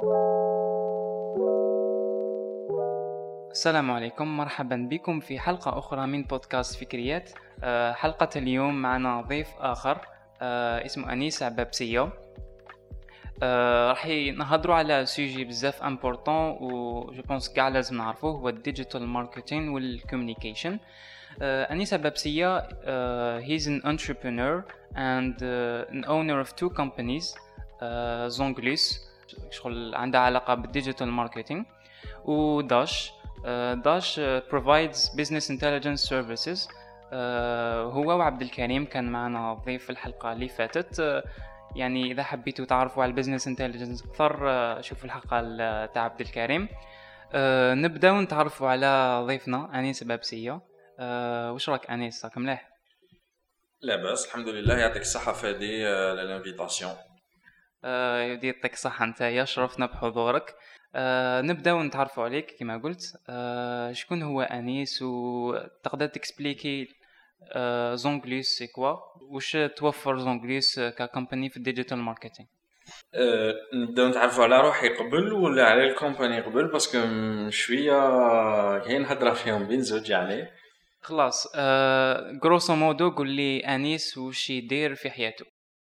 السلام عليكم، مرحبا بكم في حلقة أخرى من بودكاست فكريات. حلقة اليوم معنا ضيف آخر اسمه أنيس عبابسية. راح نهضروا على سوجي بزاف امبورطون و جو بونس كاع لازم نعرفوه، هو الديجيتال ماركتين والكوميونيكيشن. أنيس عبابسية he's an entrepreneur and an owner of two companies, زونغليس شغل عندها علاقة بالديجيتال ماركتينج، وداش. داش provides business intelligence services. هو وعبد الكريم كان معنا ضيف في الحلقة اللي فاتت. يعني إذا حبيتوا تعرفوا على البيزنس انتليجنس أكثر شوفوا الحلقة تاع عبد الكريم. نبداو نتعرفوا على ضيفنا أنيس عبابسية. وش راك أنيس، راك مليح؟ لا بس الحمد لله، يعطيك الصحة فادي للانفيتاسيون. يديك صحة نتايا، شرفنا بحضورك. نبداو نتعرفوا عليك كما قلت. شكون هو أنيس، وتقدر تكسبليكي زونغليس سي كوا، وش توفر زونغليس ككمباني في الديجيتال ماركتينج؟ نبداو نتعرفوا على روحي قبل ولا على الكومباني قبل، باسكو شويه كاين هضره فيهم بين زوج يعني. خلاص، غروسو مودو قول لي أنيس وش يدير في حياته.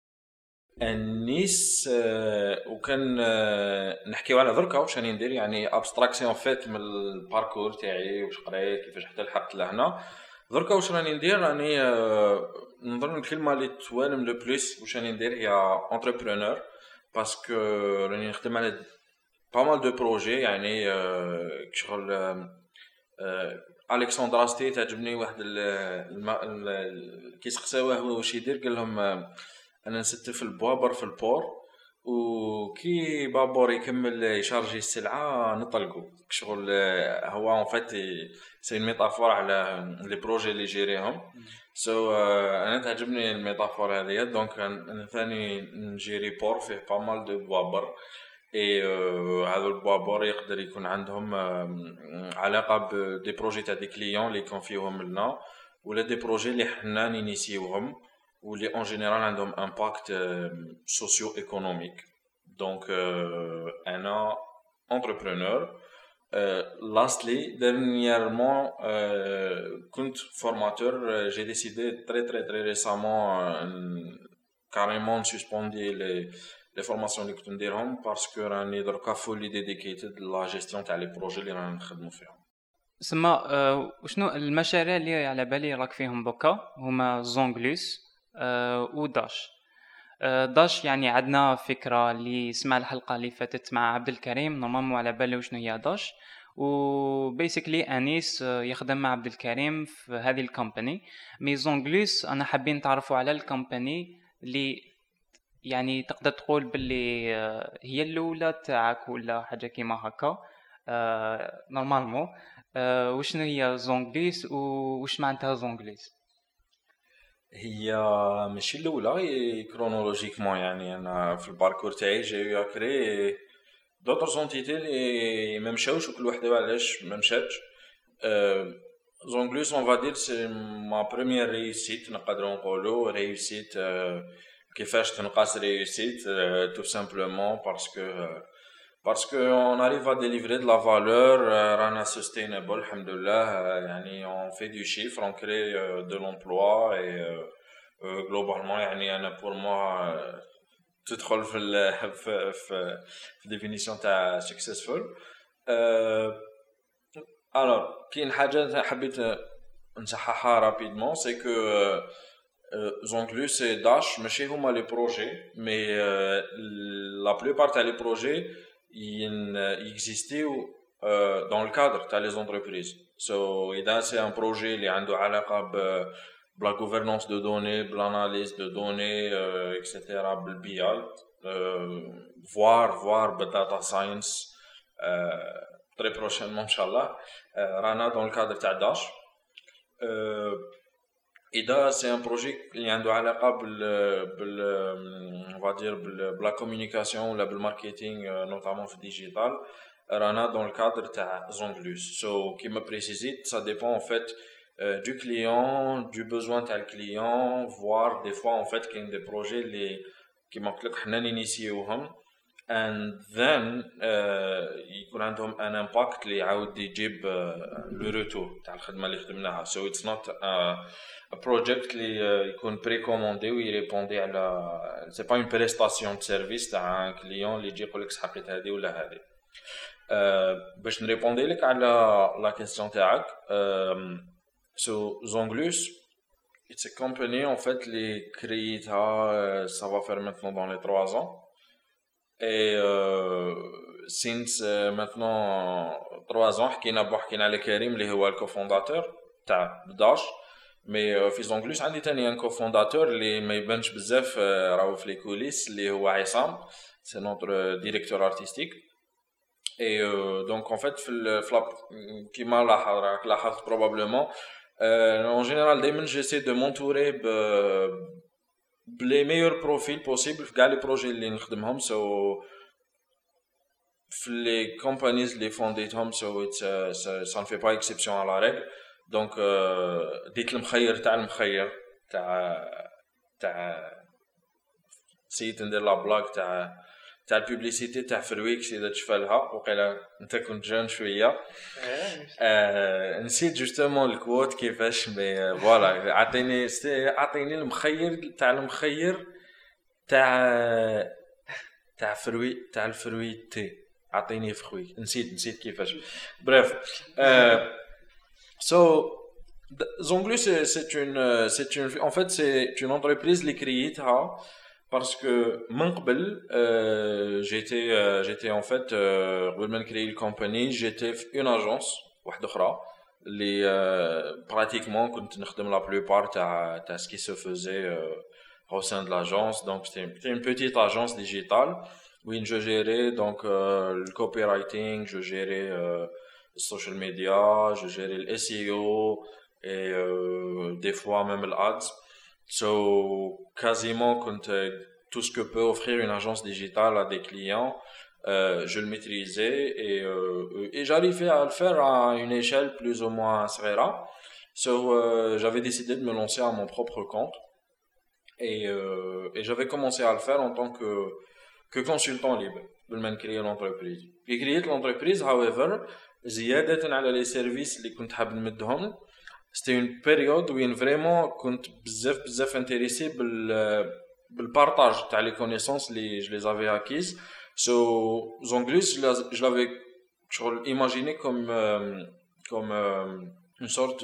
النيس وكان نحكيو على دركا واش راني ندير، يعني ابستراكسيون فات من الباركور تاعي واش قريت كيفاش حتى لحقت لهنا. دركا واش راني ندير، راني نظن الكلمه اللي توالم لو بليس واش راني ندير هي انتربرونور، باسكو راني نخدم على با مال دو بروجي. يعني شغل الكسندرا ستي تعجبني واحد كي سقساوه هو واش يدير، قال لهم انا نستف البوابر في البور، وكي بابور يكمل يشارجي السلعه نطلقوا شغل. هو ان فات سي ميتافور على لي بروجي اللي جيريهم. انا تعجبني الميتافور هذه، دونك انا ثاني نجيري بور فيه با مال دو بوابر. اي هذا البوابور يقدر يكون عندهم علاقه بدي بروجي تاع دي كليون اللي يكون فيهم لنا، ولا دي بروجي اللي حنا نينيسيوهم واللي اون جينيرال عندهم امباكت سوسيو ايكونوميك. دونك انا انتربرونور. لاستلي dernièrement كنت فورماتور. جي ديسيدي تري ريسامون كاريمون سسبوندي لي فورماسيون اللي كنت نديرهم، باسكو راني دركا فولي ديديكيتد لا جيستيون تاع لي بروجي اللي رانا نخدموا فيهم. سما وشنو المشاريع اللي على بالي راك فيهم دوكا؟ هما زونغليس وداش. داش يعني عندنا فكرة اللي سمع الحلقة اللي فاتت مع عبد الكريم، نورمالمون على بالي وشنو هي داش. وبيسيكلي أنيس يخدم مع عبد الكريم في هذه الكومباني. مي زونغليس أنا حابين نتعرفوا على الكومباني اللي يعني تقدر تقول باللي هي الأولى تاعك ولا حاجة كيما هكا نورمالمون. وشنو هي زونغليس وش معناتها زونغليس؟ هي ماشي الاولى كرونولوجيكمون، يعني انا في الباركور تاعي جاي كري دوطر زونتيتي اللي ما مشاوش وكل وحده علاش ما مشاتش. زونغلوس اون فادير سي ما بروميير ريوسيت، نقدروا نقولوا ريوسيت. كيفاش تنقاس ريوسيت؟ تو سامبلومون باسكو on arrive à délivrer de la valeur, رانا sustainable الحمد لله. يعني on fait du chiffre, on crée de l'emploi et globalement يعني انا pour moi تدخل في définition تاع successful. alors كاين حاجه حبيت نصححها رابيدمون، سي كو زونغلوس et Dash ماشي هما لي بروجي، مي لا بلوبار تاع لي بروجي يكزيستيو dans le cadre تاع les entreprises. إذا سي ان بروجي اللي عنده علاقه بلا gouvernance de données, بالاناليز de données, etc. بالبي voire بالداتا ساينس très prochainement ان شاء الله. رانا dans le cadre تاع داش. إذا سي ان بروجي اللي عنده علاقه بال on va dire بلا communication ولا بالماركتينغ نوتامون في الديجيتال، رانا dans le cadre تاع زونغلوس. كيما بريسيزيت ça dépend en fait du client, du besoin تاع الكليون, voire des fois en fait كاين des projets اللي كيما قلت لك حنا نينيسيوهم and then يكون عندهم ان امباكت اللي يعاود يجيب لو روتور تاع الخدمه اللي خدمناها. so it's not a project اللي يكون بريكوموندي ويريبوندي على سي با اون بريستاسيون دو سيرفيس تاع ان كليون اللي يجي يقول لك حبيت هذه ولا هذه. باش نريبوندي لك على لا كيسيون تاعك. so Zonglus it's a company en fait les créita ça va faire maintenant dans les 3 ans et since maintenant 3 ans حكينا على كريم اللي هو الكوفونداتور تاع بداش. مي في زونغلوس عندي تاني ان كوفونداتور اللي ما يبانش بزاف راهو في لي كوليس اللي هو عصام سي نوتر ديريكتور ارتستيك. اي دونك en fait في كيما لاحظت probablement en général دائما j'essaie de m'entourer les meilleurs profils possibles في كاع لي بروجي اللي نخدمهم. so في لي كومبانيز اللي فونديتهم so ça ne fait pas exception à la règle. donc ديك المخير تاع المخير تاع سيت ندير لا بلاك تاع البوبليسيتي تاع فرويكس اذا تشفالها وقيلا انت كنت جون شويه. نسيت جوستومون الكوت كيفاش مي فوالا عطيني المخير تاع فروي تاع الفرويتي عطيني فروي نسيت كيفاش. بريف so Zonglus en fait c'est une entreprise اللي كرييتها parce que من قبل j'étais en fait قبل ما نكري الكومباني j'étais في une agence واحده اخرى اللي pratiquement كنت نخدم la plupart تاع ce qui se faisait au sein de l'agence. donc c'était une petite agence digitale où je gérais donc le copywriting, je gérais le social media, je gérais le SEO et des fois même l'ads. So quasiment quand tout ce que peut offrir une agence digitale à des clients je le maîtrisais et j'arrivais à le faire à une échelle plus ou moins صغيرة. so j'avais décidé de me lancer à mon propre compte et j'avais commencé à le faire en tant que consultant libre قبل ما نكري l'entreprise. puis créer l'entreprise however زيادة على les services اللي كنت حاب نمدهم c'était une période où vraiment كنت بزاف intéressé بالpartage تاع les connaissances اللي je les avais acquises. so Zonglus je l'avais imaginé comme une sorte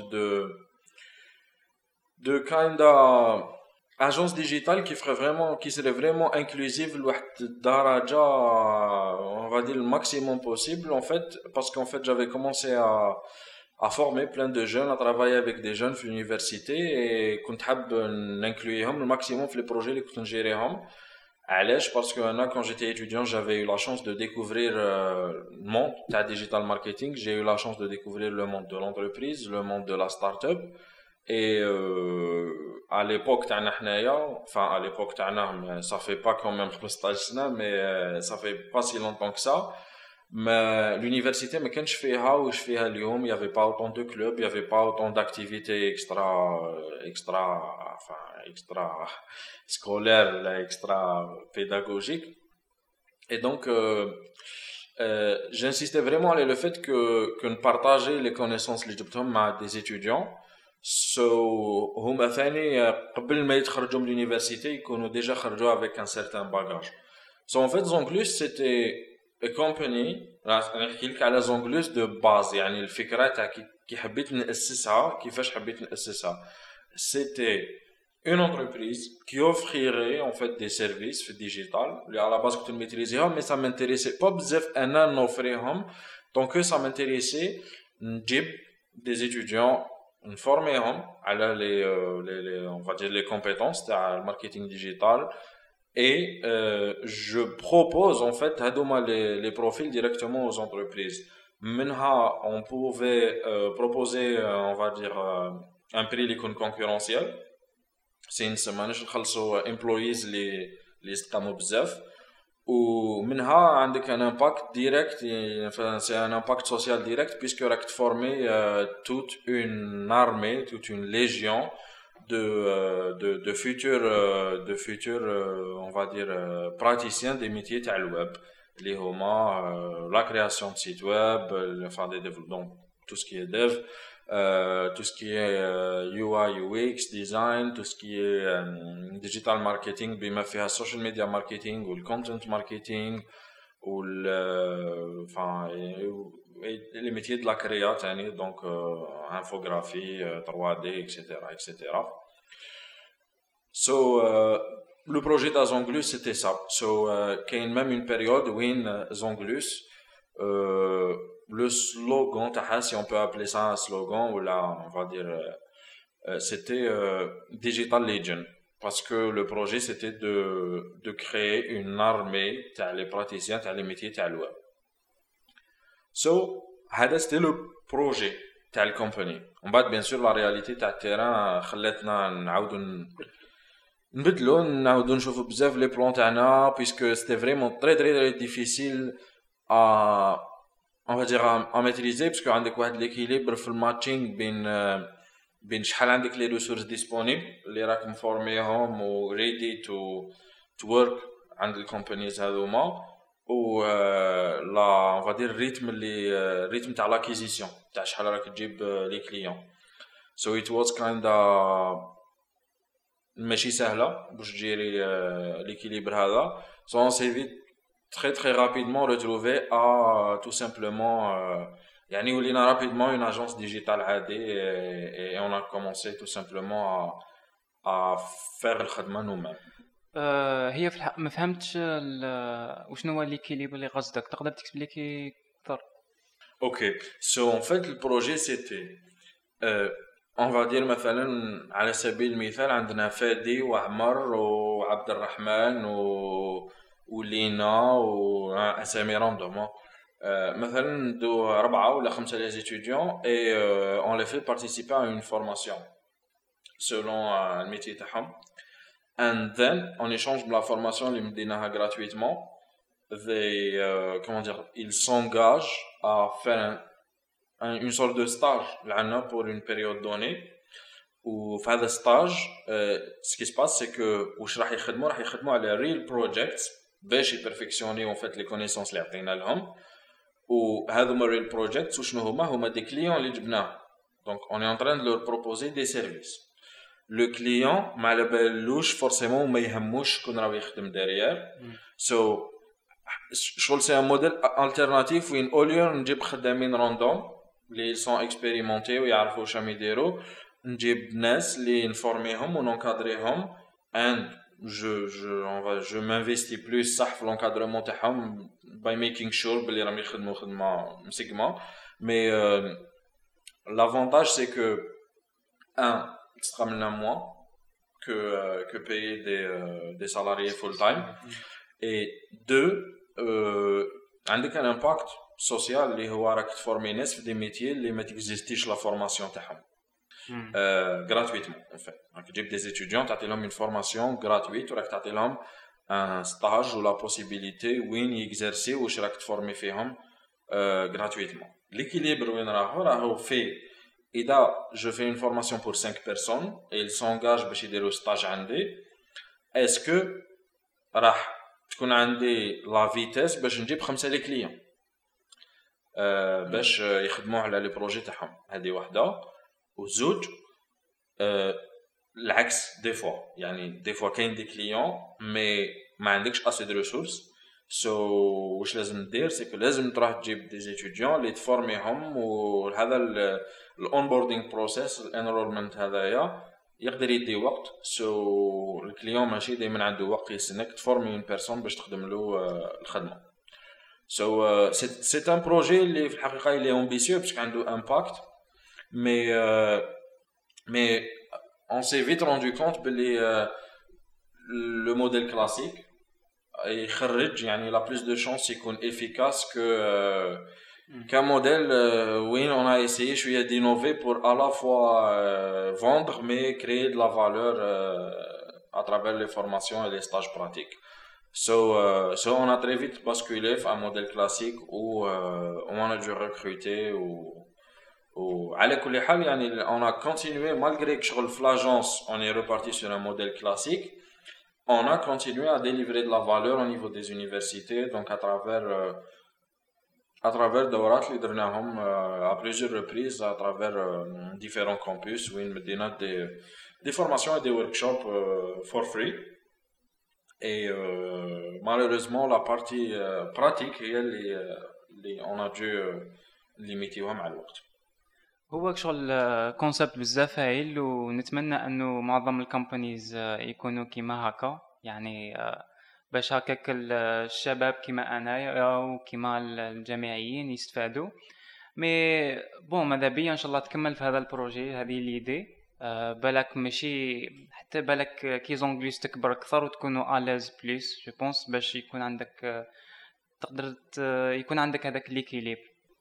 de kind of agence digitale qui serait vraiment inclusive لواحد الدرجة on va dire le maximum possible en fait parce qu'en fait j'avais commencé à former plein de jeunes, à travailler avec des jeunes في l'université et كنت حاب n'incluirهم le maximum في les projets اللي كنت نجيريهم. علاش parce que أنا quand j'étais étudiant j'avais eu la chance de découvrir le monde تاع digital marketing. j'ai eu la chance de découvrir le monde de l'entreprise, le monde de la start-up et à l'époque تاعنا حنايا enfin à l'époque تاعنا ça fait pas quand même 15 سنة mais ça fait pas si longtemps que ça. mais l'université ما كانش فيها واش فيها اليوم. il y avait pas autant de clubs, il y avait pas autant d'activités extra scolaires là, extra pédagogiques et donc j'insistais vraiment sur le fait que ne partager les connaissances اللي جبتهم مع des étudiants. so هما ثاني قبل ما يتخرجوا من l'université يكونوا déjà خرجوا avec un certain bagage. so en fait Zonglus c'était a company. راح نحكي لك على زونغلوس دو باز يعني الفكره تاع كي حبيت نأسسها كيفاش حبيت نأسسها. c'était une entreprise qui offrirait en fait des services في الديجيتال اللي على باز كنت نميتريزيهم. mais ça m'intéressait pas بزاف انا نوفريهم donc ça m'intéressait نجيب des étudiants نفورميهم على les on va dire les compétences تاع الماركتينغ ديجيتال et je propose en fait les profils directement aux entreprises. Maintenant on pouvait proposer on va dire un prix qui est concurrentiel. c'est une semaine نخلصوا employees اللي يستقاموا بزاف ومنها عندك un impact direct. c'est un impact social direct puisque راك تفورمي toute une armée, toute une légion de futurs on va dire praticiens des métiers تاع الويب اللي هما la création de site web, enfin des développements, tout ce qui est dev, tout ce qui est UI UX design, tout ce qui est digital marketing بما فيها social media marketing ou le content marketing ou enfin les métiers de la créa يعني donc infographie 3D etc etc. So le projet d'Azonglus c'était ça. So qu'il y a même une période où Zonglus le slogan si on peut appeler ça un slogan ou là on va dire c'était Digital Legion parce que le projet c'était de créer une armée les praticiens les métiers le web. So c'était le projet تاع الكومباني. ومن بعد bien sûr la réalité تاع التيران خلاتنا نعاودوا نبدلو نعاودو نشوفو بزاف لي بلان تاعنا puisque c'était vraiment très très très difficile à on va dire à maîtriser parce que عندك واحد l'équilibre في الماتشينغ بين شحال عندك لي ريسورس ديسپونيبل اللي راك مفورميهم و ready to work عند الكومبانيز هذوما و لا on va dire الريتم تاع لاكيزيسيون تاع شحال راك تجيب لي كليون. So it was kinda ماشي سهله باش تجيري l'équilibre هذا. So on s'est vite très très rapidement retrouvé à tout simplement يعني ولينا rapidement une agence digitale عادي et on a commencé tout simplement à faire الخدمه nous-mêmes. هي في الحق ما فهمتش وشنو هو ليكيليبر اللي قصدك تقدر تكسبليكي اكثر؟ OK. So en fait le projet c'était on va dire مثلا على سبيل المثال عندنا فادي وعمر وعبد الرحمن ولينا واسامي راندوم مثلا ندو 4 ولا 5 les étudiants et on les fait participer à une formation selon le métier تاعهم and then en échange de la formation اللي مديناها gratuitement they comment dire ils s'engagent à faire une sorte de stage لعنا pour une période donnée وفي هذا stage ce qui se passe c'est que واش راح يخدموا على real projects باش يبرفكسيوني en fait les connaissances اللي عطينا لهم وهذوما real projects وشنو هما des clients اللي جبناهم donc on est en train de leur proposer des services. Le client ما على بالوش forcément ما يهموش شكون راه يخدم derrière. So شغل c'est un modèle alternatif وين au lieu نجيب خدامين راندوم اللي sont expérimentés ويعرفوا واش راهم يديروا نجيب ناس اللي نفورميهم ونكادريهم and je m'investis plus صح في l'encadrement تاعهم by making sure بلي راهم يخدموا خدمه مسقمه mais l'avantage c'est que sera moins que payer des salariés full time et deux عندك un impact social اللي هو راك تفورمي ناس في دي ميتيي اللي ما تكزيستيش لا فورماسيون تاعهم gratuitement en fait. راك تجيب des étudiants تعطي لهم une formation gratuite وراك تعطي لهم un stage ou la possibilité وين يexercer واش راك تفورمي فيهم gratuitement. L'équilibre وين راهو في إذا je fais une formation pour 5 personnes et ils s'engagent باش يديروا stage عندي est-ce que راح تكون عندي la vitesse باش نجيب 5 لي كليون باش يخدموا على لي بروجي تاعهم. هذه واحده وزوج العكس دي فوا يعني دي فوا كاين دي كليون مي ما عندكش اسي دو ريسورس واش لازم ندير سي لازم تروح تجيب دي ستوديون اللي تفورميهم وهذا الاونبوردينغ بروسيس الانرولمنت هذايا يقدر يدي وقت الكليون ماشي دائما عنده وقت يستناك تفورمي اون بيرسون باش تخدم له الخدمه. c'est un projet اللي في الحقيقه اللي امبيسيو باسكو عنده امباكت mais on s'est vite rendu compte que le modèle classique يخرج يعني la plus de chance يكون efficace qu'un modèle où on a essayé d'innover pour à la fois vendre mais créer de la valeur à travers les formations et les stages pratiques. So on a très vite basculé à un modèle classique où on a dû recruter وعلى كل حال يعني on a continué malgré que شغل في l'agence on est reparti sur un modèle classique. On a continué à délivrer de la valeur au niveau des universités, donc à travers دورات اللي درناهم à plusieurs reprises à travers différents campus où ils me donnent des formations et des workshops for free. Et malheureusement la partie pratique هي اللي on a dû limiter مع الوقت. هو شغل كونسبت بزاف هايل، ونتمنى انه معظم الكومبانيز يكونوا كيما هكا، يعني باش هكاك الشباب كيما انايا وكيما الجامعيين يستفادوا. مي بون ماذا بيا ان شاء الله تكمل في هذا البروجي، هذه ليدي. بالك ماشي حتى بالك كي زونغليس تكبر اكثر وتكونوا الاز بليس جو بونس باش يكون عندك تقدر يكون عندك هذاك ليكيليب.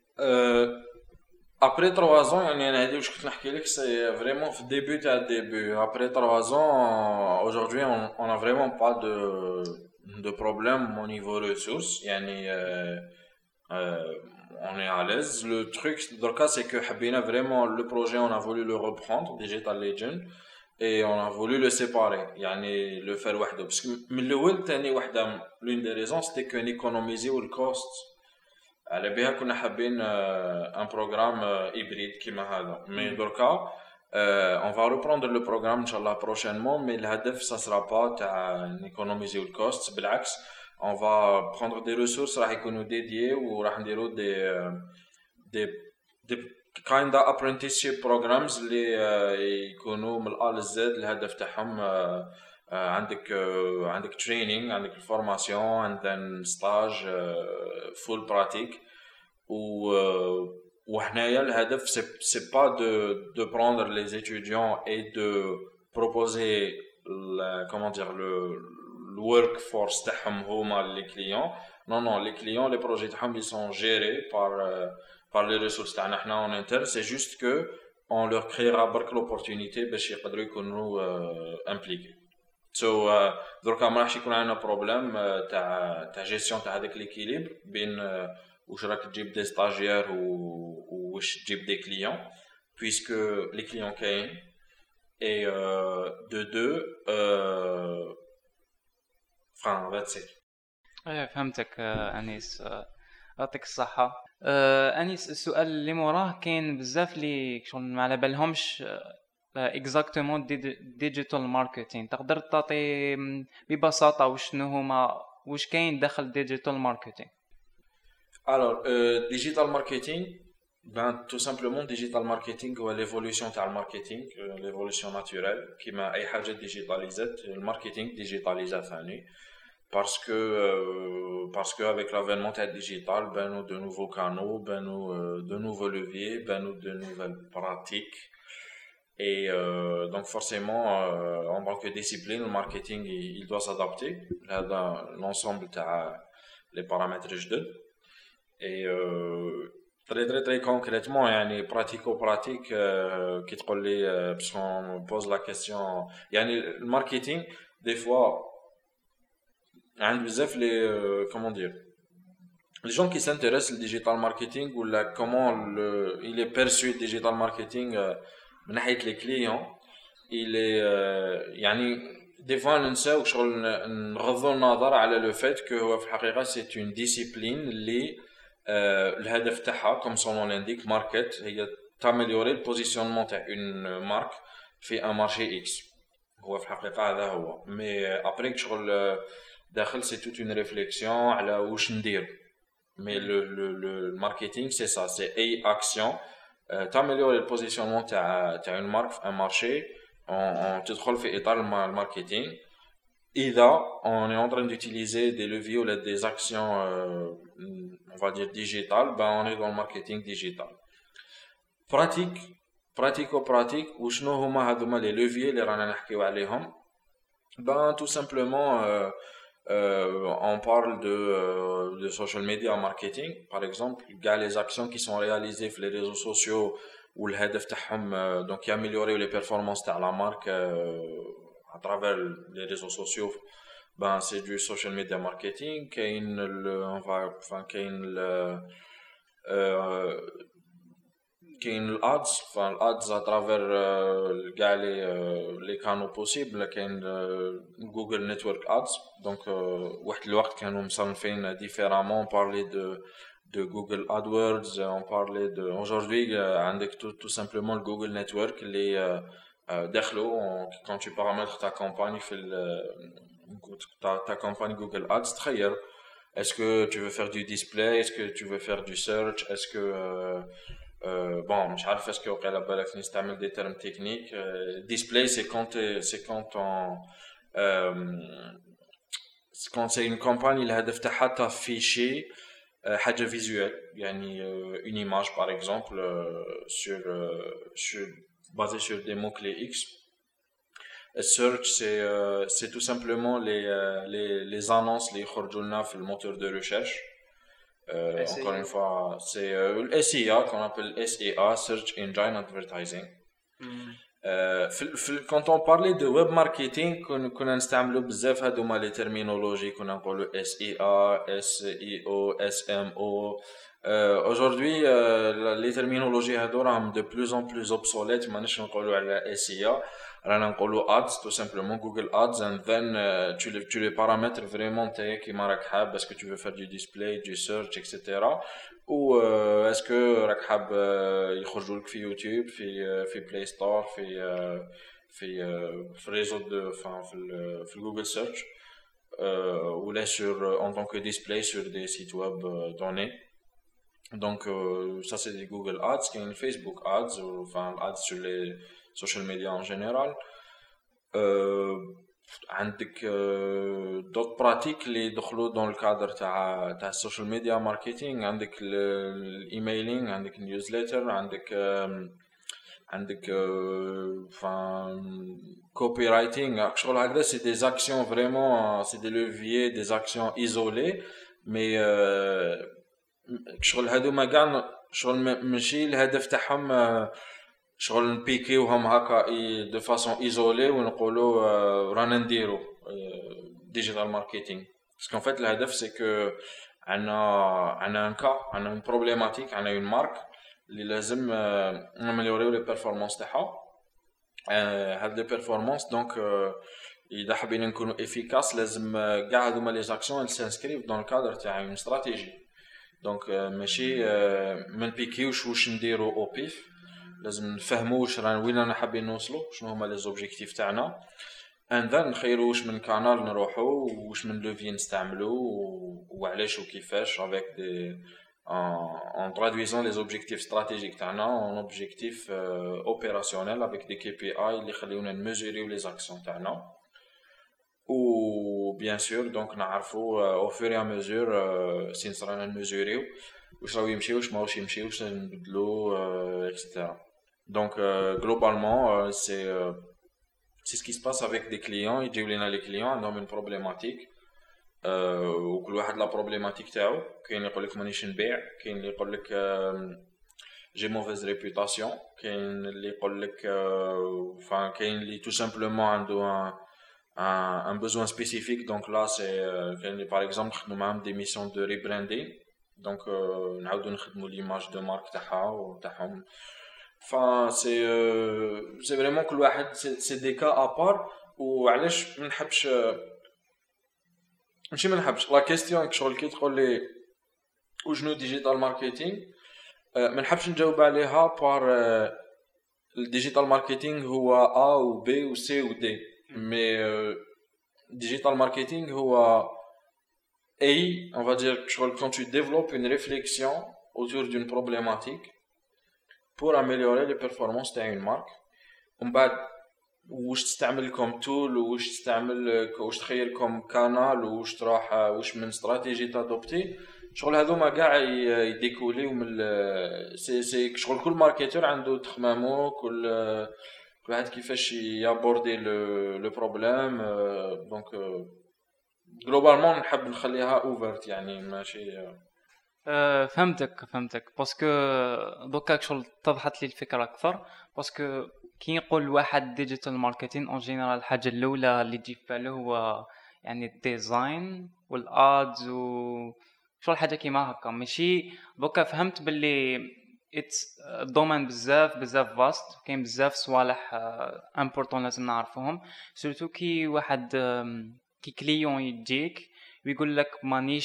Après 3 ans, يعني أنا هذه واش كنت نحكي لك c'est vraiment في début تاع début. Après 3 ans, aujourd'hui on a vraiment pas de problème au niveau ressources. يعني on est à l'aise. Le truc dans le cas c'est que حبينا vraiment le projet, on a voulu le reprendre Digital Legend et on a voulu le séparer, يعني le faire وحده parce que من الأول تاني وحده l'une des raisons c'était qu'on économisait le cost. على بها كنا حابين un programme hybride كيما هذا. Mais دركا on va reprendre le programme ان شاء الله prochainement, mais الهدف ça sera pas تاع économiser le cost, بالعكس on va prendre des ressources راح يكونوا dédiées وراح نديروا des kind of apprenticeship programs اللي يكونوا من الأ للزد. الهدف تاعهم عندك training, عندك formation and then stage full pratique. وهنايا الهدف c'est pas de prendre les étudiants et de proposer comment dire le workforce تاعهم هما les clients. Non, les clients, les projets تاعهم ils sont gérés par les ressources تاعنا حنا en interne. C'est juste que on leur créera برك l'opportunité باش يقدروا يكونوا impliqués. So دركا ما راحش يكون عندنا بروبليم تاع جيستيون تاع هذاك ليكيليبر بين واش راك تجيب دي ستاجير واش تجيب دي كليون puisque les clients كاين et de deux enfin that's it. فهمتك انيس، يعطيك الصحه. انيس السؤال اللي موراه كاين بزاف اللي شغل ما على بالهمش اكزاكتومون ديجيتال ماركتينغ. تقدر تعطي ببساطه وشنو هما واش كاين داخل ديجيتال ماركتينغ؟ Alors digital marketing, ben tout simplement digital marketing هو l'évolution تاع الماركتينغ, l'évolution naturelle كيما اي حاجه ديجيتاليزات الماركتينغ ديجيتاليزا ثاني. Parce que avec l'avènement du digital, ben nous de nouveaux canaux, ben nous de nouveaux leviers, ben nous de nouvelles pratiques. Et donc forcément, en tant que discipline, le marketing il doit s'adapter à l'ensemble des paramètres جدد. Et très concrètement, يعني pratico-pratique, qui te parle, parce qu'on pose la question, يعني le marketing, des fois, عند بزاف les comment dire, les gens qui s'intéressent au digital marketing ou là comment il est perçu le digital marketing من ناحية les clients, il est يعني des fois ننساو شغل نغضوا النظر على le fait que هو في الحقيقة c'est une discipline اللي الهدف تاعها comme son nom l'indique market هي t'améliorer le positionnement تاع une marque في un marché X. هو في الحقيقة هذا هو. Mais après شغل داخل c'est toute une réflexion على واش ندير. Mais le marketing c'est ça, c'est A action, t'améliorer le positionnement تاع une marque un marché en تدخل في إطار الماركتينغ. إذا on est en train d'utiliser des leviers ou des actions on va dire digitales, ben on est dans le marketing digital. Pratico-pratique وشنو هما هذوما les leviers اللي رانا نحكيو عليهم. Ben tout simplement on parle de social media marketing par exemple, les actions qui sont réalisées sur les réseaux sociaux où le but تاعهم donc améliorer les performances de la marque à travers les réseaux sociaux. Ben c'est du social media marketing. كاين الادز فالادز اترافير كاع لي كانو بوسيبل كاين جوجل نتورك ادز دونك واحد الوقت كانوا مصنفين ديفيرامون بارلي de Google AdWords, on parlait de aujourd'hui عندك tout simplement le Google Network اللي داخلو quand tu paramètres ta campagne في ta campagne Google Ads تخير est-ce que tu veux faire du display, est-ce que tu veux faire du search, est-ce que bon مش عارف est-ce que وقيلا بالك نستعمل des termes techniques display c'est quand c'est une campagne الهدف تاعها تافيشي حاجه فيزوال يعني une image par exemple sur basé sur des mots clés X. Search c'est tout simplement les annonces les يخرجوا لنا في le moteur de recherche. Encore une fois c'est le SEA qu'on appelle SEA Search Engine Advertising. Quand on parlait de web marketing كنا نستعملوا بزاف هذوما لي ترمينولوجي كنا نقولوا SEA SEO SMO. Aujourd'hui les terminologies هذو راهم de plus en plus obsolètes ماناش نقولوا على SEA رانا نقولوا ads tout simplement Google Ads and then tu les paramètres vraiment نتايا كيما راك حاب est-ce que tu veux faire du display du search etc. ou est-ce que راك حاب يخرجوا لك في يوتيوب في بلاي ستور في réseau de في Google Search ou là sur en tant que display sur des sites web donnés. Donc ça c'est des Google Ads, qui est une Facebook Ads ou enfin ads sur les social media en général. عندك d'autres pratiques اللي دخلوا dans le cadre تاع social media marketing. عندك الايميلينغ عندك النيوزليتر عندك enfin copywriting شغل هكذا c'est des actions vraiment c'est des leviers des actions isolées mais شغل هذوما كاع شغل ماشي الهدف تاعهم شغل نبيكيوهم هكا دو فاصون ايزولي ونقولوا رانا نديرو ديجيتال ماركتينغ باسكو ان فيت الهدف سي كو عندنا ان كا عندنا اون بروبليماتيك عندنا اون مارك اللي لازم نمليوريو لي بيرفورمانس تاعها هاد لي بيرفورمانس دونك اذا حابين نكونوا افيكاس لازم كاع هذوما لي زاكسيون سانسكريف دون الكادر تاع اون استراتيجي دونك ماشي من بيكيوش واش نديرو او بيف لازم نفهموا واش رانا وين رانا حابين نوصلوا شنو هما لي زوبجيكتيف تاعنا اند ذن نخيروا واش من كانال نروحوا واش من لوفي نستعملوا وعلاش وكيفاش افيك دي en traduisant les objectifs stratégiques تاعنا en objectifs opérationnels avec des KPI اللي يخليونا نميزوريو لي زاكسيون تاعنا و bien sûr donc نعرفوا au fur et à mesure سين رانا نميزوريو واش راهو يمشي واش ماهوش يمشي واش نبدلو etc. Donc globalement c'est ce qui se passe avec des clients. يجيو لينا les clients عندهم une problématique وكل واحد لا problématique تاعو. كاين اللي يقول لك مانيش نبيع كاين اللي يقول لك j'ai mauvaise réputation كاين اللي يقول لك enfin كاين اللي tout simplement عنده un besoin spécifique donc là c'est كاين اللي par exemple خدموا معاهم des missions de rebranding donc نعاودو نخدموا l'image de marque تاعها وتاعهم. Enfin c'est vraiment كل واحد c'est des cas à part وعلاش ما نحبش ماشي ما نحبش لا كيستيون شغل كي تقول لي وشنو ديجيتال ماركتينغ ما نحبش نجاوب عليها بار الديجيتال ماركتينغ هو A و B و C و D mais digital marketing هو A on va dire quand tu développes une réflexion autour d'une problématique pour améliorer les performances d'une marque ومن بعد واش تستعمل كوم تول واش تستعمل واش تخيل كوم كانال واش تروح واش من استراتيجي تادوبتي شغل هذوما كاع يديكوليو من سي شغل كل ماركتور عنده تخمامو كل واحد كيفاش يابوردي لو بروبليم دونك جلوبالمون نحب نخليها اوفرت يعني ماشي فهمتك باسكو دوكا شغل اتضحت لي الفكره اكثر باسكو كي يقول واحد ديجيتال ماركتين اون جينيرال الحاجه الاولى اللي تجي في باله هو يعني الديزاين والادز و شغل حاجه كيما هكا ماشي دوكا فهمت باللي اتس دومين بزاف فاست، كاين بزاف صوالح امبورطون لازم نعرفوهم. سورتو كي واحد كي كليون يجيك ويقول لك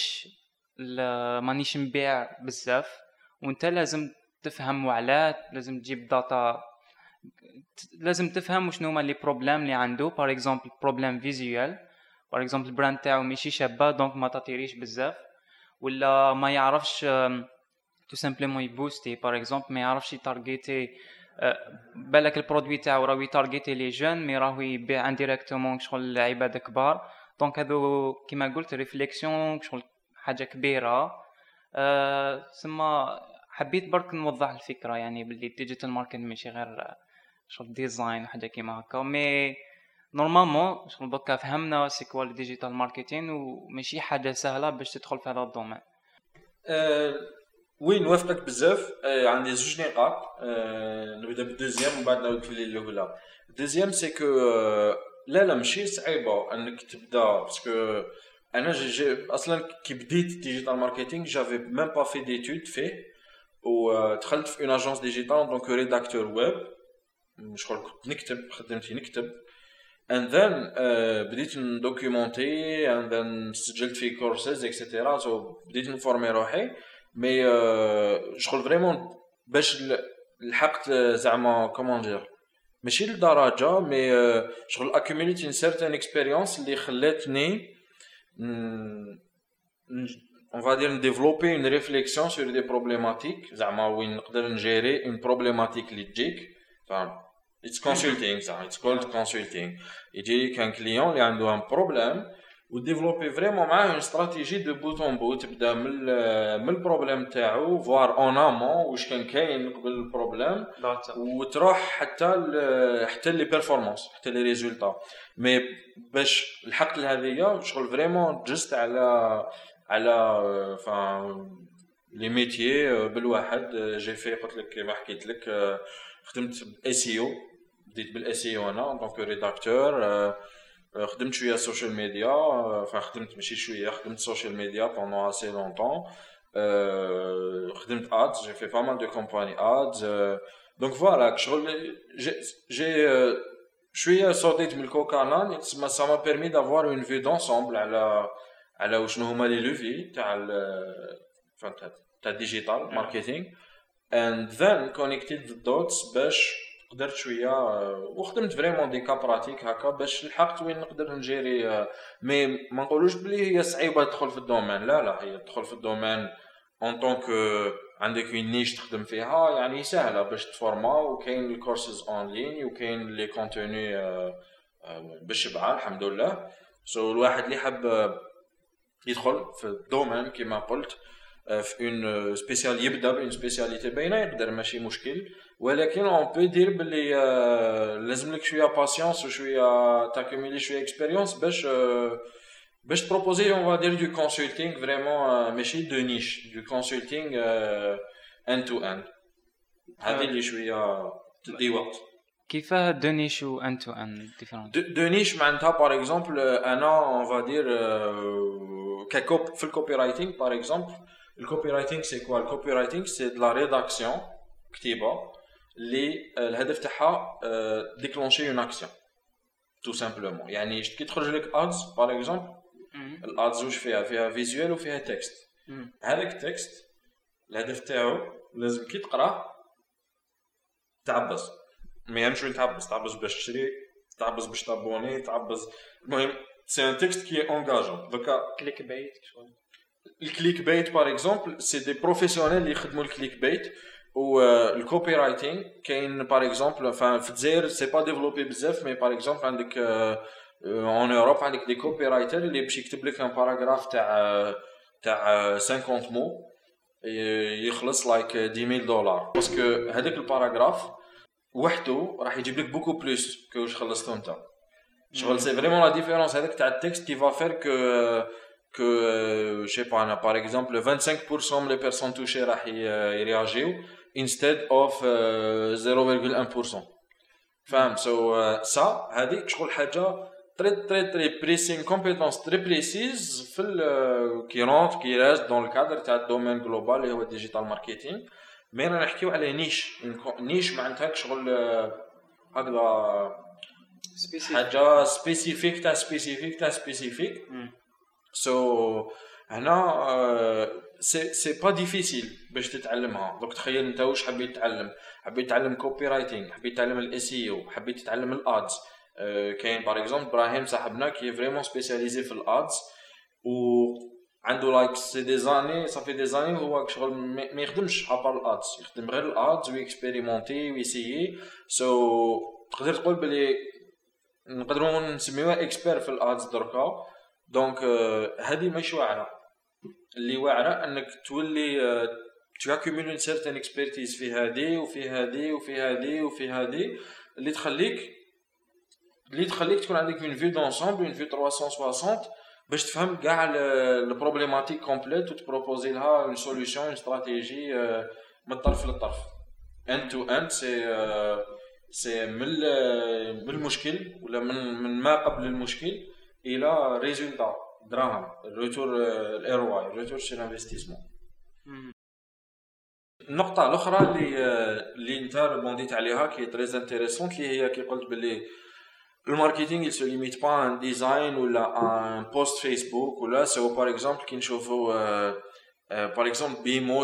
مانيش نبيع بزاف، وانت لازم تفهم وعلاه، لازم تجيب داتا، لازم تفهم شنو هما لي بروبليم اللي عنده. باغ اكزومبل بروبليم فيزيوال، باغ اكزومبل البراند تاعو ماشي شابه دونك ما تطيريش بزاف، ولا ما يعرفش تو سامبلومون يبوستي باغ اكزومبل، ما يعرفش يتارغيتي بالك البرودوي تاعو راه يتارغيتي لي جون مي راهو يبيع انديريكتومون شغل عباد كبار. دونك هذو كيما قلت ريفليكسيون شغل حاجه كبيره. سما حبيت برك نوضح الفكره يعني باللي ديجيتال ماركتينغ ماشي غير شغل ديزاين وحاجه كيما هكا، مي نورمالمون شغل دوكا فهمنا سي كوا الديجيتال ماركتينغ وماشي حاجه سهله باش تدخل في هذا الدومين. وين نوافقك بزاف. عندي زوج نقاط. نبدا بالدوزيام ومن بعد نعاود في الاولى. الدوزيام سي كو لا ماشي صعيبه انك تبدا، باسكو انا جي اصلا كي بديت ديجيتال ماركتينغ جافي ميم با في ديتود فيه، ودخلت في اون اجونس ديجيتال دونك ريداكتور ويب. شغل كنت نكتب، خدمتي نكتب and then بديت ندوكيومونتي and then سجلت في كورسز اكسيتيرا. سو بديت نفورمي روحي، مي شغل فريمون باش لحقت زعما كومون دير ماشي لدرجه، مي شغل اكوميليت ان سيرتين اكسبيريونس اللي خلاتني on va dire développer une réflexion sur des problématiques زعما وين نقدر نجيري une problématique اللي تجيك. it's consulting ça, it's called consulting. يجي كان كليون اللي عنده un problème وديفلوبي فريمون معاه اون استراتيجي دو بوت اون بوت، تبدا من البروبليم تاعو فوار اون امون واش كان كاين قبل البروبليم، وتروح حتى لي بيرفورمانس حتى لي ريزولطا. مي باش لحقت لهذيا شغل فريمون جست على لي ميتيي بالواحد. جي في قلت لك كيما حكيت لك خدمت بالاس او، بديت بالاس او انا دونك ريداكتور. خدمت شويه سوشيال ميديا، خدمت ماشي شويه، خدمت سوشيال ميديا بوندون اسي لونطون. خدمت ادز، جي في با مال دو كومباني ادز. دونك فوالا شغل جي شويه صوتيت من الكوكانان. سا ما بيرمي دافوار اون في دونسومبل على وشنو هما لي لوفي تاع ديجيتال ماركتينغ and then connected the dots باش قدرت شويه وخدمت فريمون دي كا براتيك هكا باش لحقت وين نقدر نجيري. مي ما نقولوش بلي هي صعيبه تدخل في الدومين، لا هي تدخل في الدومين اون طونك عندك اون نيش تخدم فيها يعني سهله باش تفورما، وكاين الكورسز اون لين وكاين لي كونتوني بالشبعه الحمد لله. سو الواحد اللي حب يدخل في الدومين كما قلت في اون سبيسيال يبدا بين سبيسياليتي باينه يقدر ماشي مشكل، ولكن اون بو دير بلي لازم لك شويه باسيونس وشويه تاكوميلي شويه اكسبيريونس باش تبروبوزي اون فا دير دو كونسلتينغ فريمون ماشي دو نيش، دو كونسلتينغ ان تو ان. هذه اللي شويه تدي وقت. كيفاه دو نيش و ان تو ان ديفيرونت؟ دو نيش معناتها باغ اكزومبل انا اون فا دير ككوب في الكوبي رايتينغ. باغ اكزومبل الكوبي رايتينغ سي كوا؟ الكوبي رايتينغ سي دو لا ريداكسيون، كتيبه اللي الهدف تاعها ديكلونشي اون اكسيون تو سامبلومون. يعني كي تخرج لك ادز باغ اكزومبل، الادز واش فيها فيزوال وفيها تكست. هذاك التكست الهدف تاعو لازم كي تقراه تعبز، ما يهمش وين تعبز باش تشري، تعبز باش تابوني، تعبز. المهم سي ان تكست كي انغاجون. دوكا كليك بايت شغل الكليك بايت باغ اكزومبل سي دي بروفيسيونيل اللي يخدموا الكليك بايت. والكوبي رايتينغ كاين باغ اكزومبل في الجزائر سي با ديفلوبي بزاف، مي باغ اكزومبل عندك اون اوروب عندك دي كوبي رايتر اللي باش يكتب لك ان باراغراف تاع 50 مو يخلص لايك $10,000 باسكو هذاك الباراغراف وحده راح يجيب لك بوكو بلوس كو واش خلصتو انت. شغل سي فريمون لا ديفيرونس هذاك تاع التكست كي فا فير que je sais pas, par exemple 25% من les personnes touchées راح يرياجيو instead of 0.1%. فاهم؟ ça هذيك شغل حاجه très précis, compétence très précise في كي رونت كي راست dans le cadre تاع الدومين جلوبال اللي هو الديجيتال ماركتينغ. مي رانا نحكيو على نيش معناتها شغل هكذا حاجه سبيسيفيك تاع سبيسيفيك. سو هنا سي با ديفيسيل باش تتعلمها. دونك تخيل انت واش حبيت تتعلم. حبيت تتعلم كوبي رايتنج، حبيت تتعلم الاس اي او، حبيت تتعلم الادز. كاين باغ اكزومبل ابراهيم صاحبنا كي فريمون سبيسياليزي في الادز و عنده لايك سي دي زاني صافي دي زاني هو شغل ما يخدمش ابار الادز، يخدم غير الادز ويكسبيريمونتي ويسيي. سو تقدر تقول بلي نقدروا نسميوها اكسبير في الادز دركا. دونك هذه ماشي واعره. اللي واعره انك تولي tu accumules une certaine expertise في هذه وفي هذه وفي هذه وفي هذه اللي تخليك تكون عندك une vue d'ensemble, une vue 360 باش تفهم كاع البروبليماتيك كومبليت وتبروبوزي لها une solution, une stratégie من الطرف للطرف end to end. سي من المشكل ولا من ما قبل المشكل الى ريزولتا دراهم الريتور الارواي الريتور سي انفستيسمون. النقطه الاخرى اللي انت ريبونديت عليها كي تريز انتريسونت اللي هي كي قلت باللي الماركتينغ il se limite pas à un design ولا un post Facebook ولا سو باغ اكزومبل كي نشوفوا باغ اكزومبل بيمو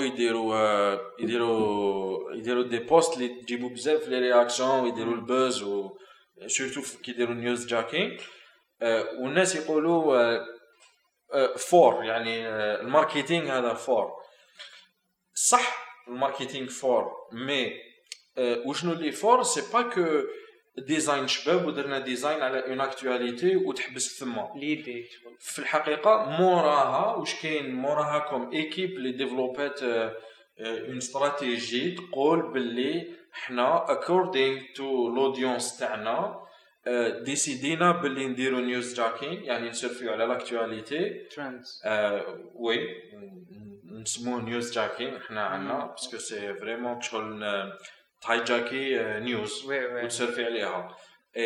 يديروا دي بوست اللي تجيبوا بزاف لي رياكسيون ويديروا البوز و سورتو كي يديروا نيوز جاكين والناس يقولوا فور يعني الماركتينغ هذا فور صح الماركتينغ فور مي وشنو اللي فور سي با كو ديزاين شباب ودرنا ديزاين على اون اكtualité وتحبس ثما ليدي في الحقيقه موراها واش كاين موراها كوم ايكيب لي ديفلوبات اون استراتيجي تقول باللي حنا according to l'auddience تاعنا ديسيدينا باللي نديرو نيوز جاكين يعني نسيرفيو على لاكtualité ترندز وي نسموه نيوز جاكين حنا عندنا باسكو سي فريمون شغل هايجاكي نيوز وتسيرفي عليها